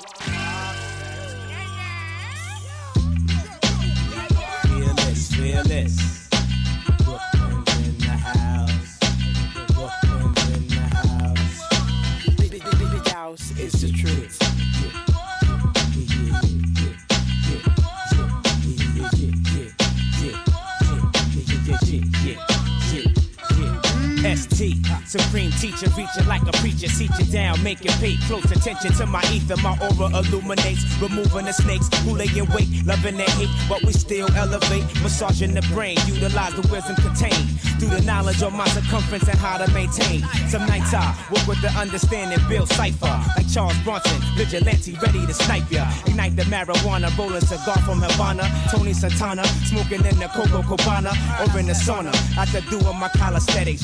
Speaker 19: Feel this, feel this. Brooklyn's in the house. Brooklyn's in the house. Big, big, big, big house is the truth.
Speaker 21: S T, supreme teacher, reaching like a preacher, seat you down, make it pay close attention to my ether. My aura illuminates, removing the snakes who lay in wait, loving their hate, but we still elevate, massaging the brain, utilize the wisdom contained through the knowledge of my circumference and how to maintain. Some nights I work with the understanding, build cipher like Charles Bronson, vigilante, ready to snipe ya. Ignite the marijuana, rolling cigar from Havana, Tony Santana, smoking in the Coco Cabana or in the sauna. After doing my calisthenics, universe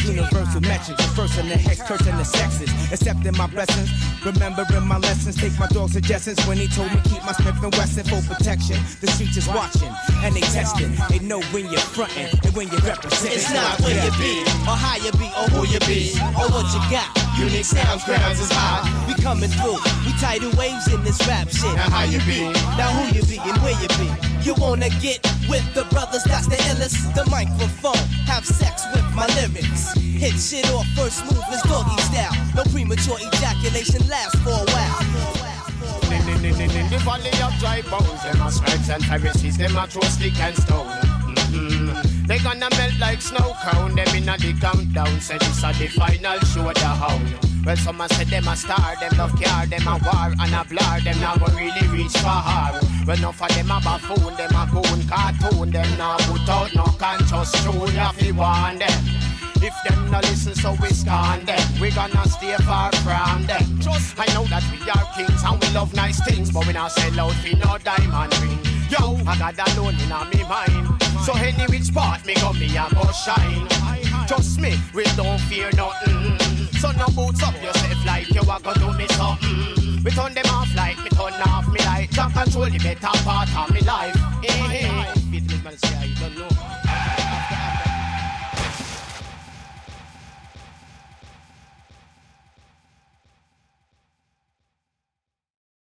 Speaker 10: universal metrics. First in the hex, curtain the sexes. Accepting my blessings, remembering my lessons. Take my dog's suggestions when he told me keep my Smith and Wesson for protection. The streets is watching and they testing. They know when you're fronting and when you're representing.
Speaker 1: It's not where you be, or how you be, or who you be, or what you got. Unique sounds, grounds is high. We coming through, we tidal waves in this rap shit.
Speaker 2: Now how you be?
Speaker 1: Now who you be and where you be? You wanna get with the brothers, that's the illest. The microphone, have sex with my lyrics. Hit shit off, first move is doggy style. No premature ejaculation lasts for a while.
Speaker 2: In the valley of dry bones, them are scribes and Pharisees, them are throw stick and stone. Mm-hmm. They gonna melt like snow cone, them in a the countdown. Say this is the final show, the how. Well, some a say them a star, them love car, them a war and a blur, them now go really reach for her. Well, enough of them a buffoon, them a goon cartoon, them now put out no conscious tune, if you want them. If them no listen, so we scorn them. We gonna stay far from them. Trust, I know that we are kings and we love nice things, but we not sell out for no diamond ring. Yo, I got that alone in me mind. So any which part me go, me a go shine. Trust me, we don't fear nothing. So no boots up yourself like you a go do me something. We turn them off like me turn off me light. Can't control the better part of me life. Hey, hey, hey. You don't know.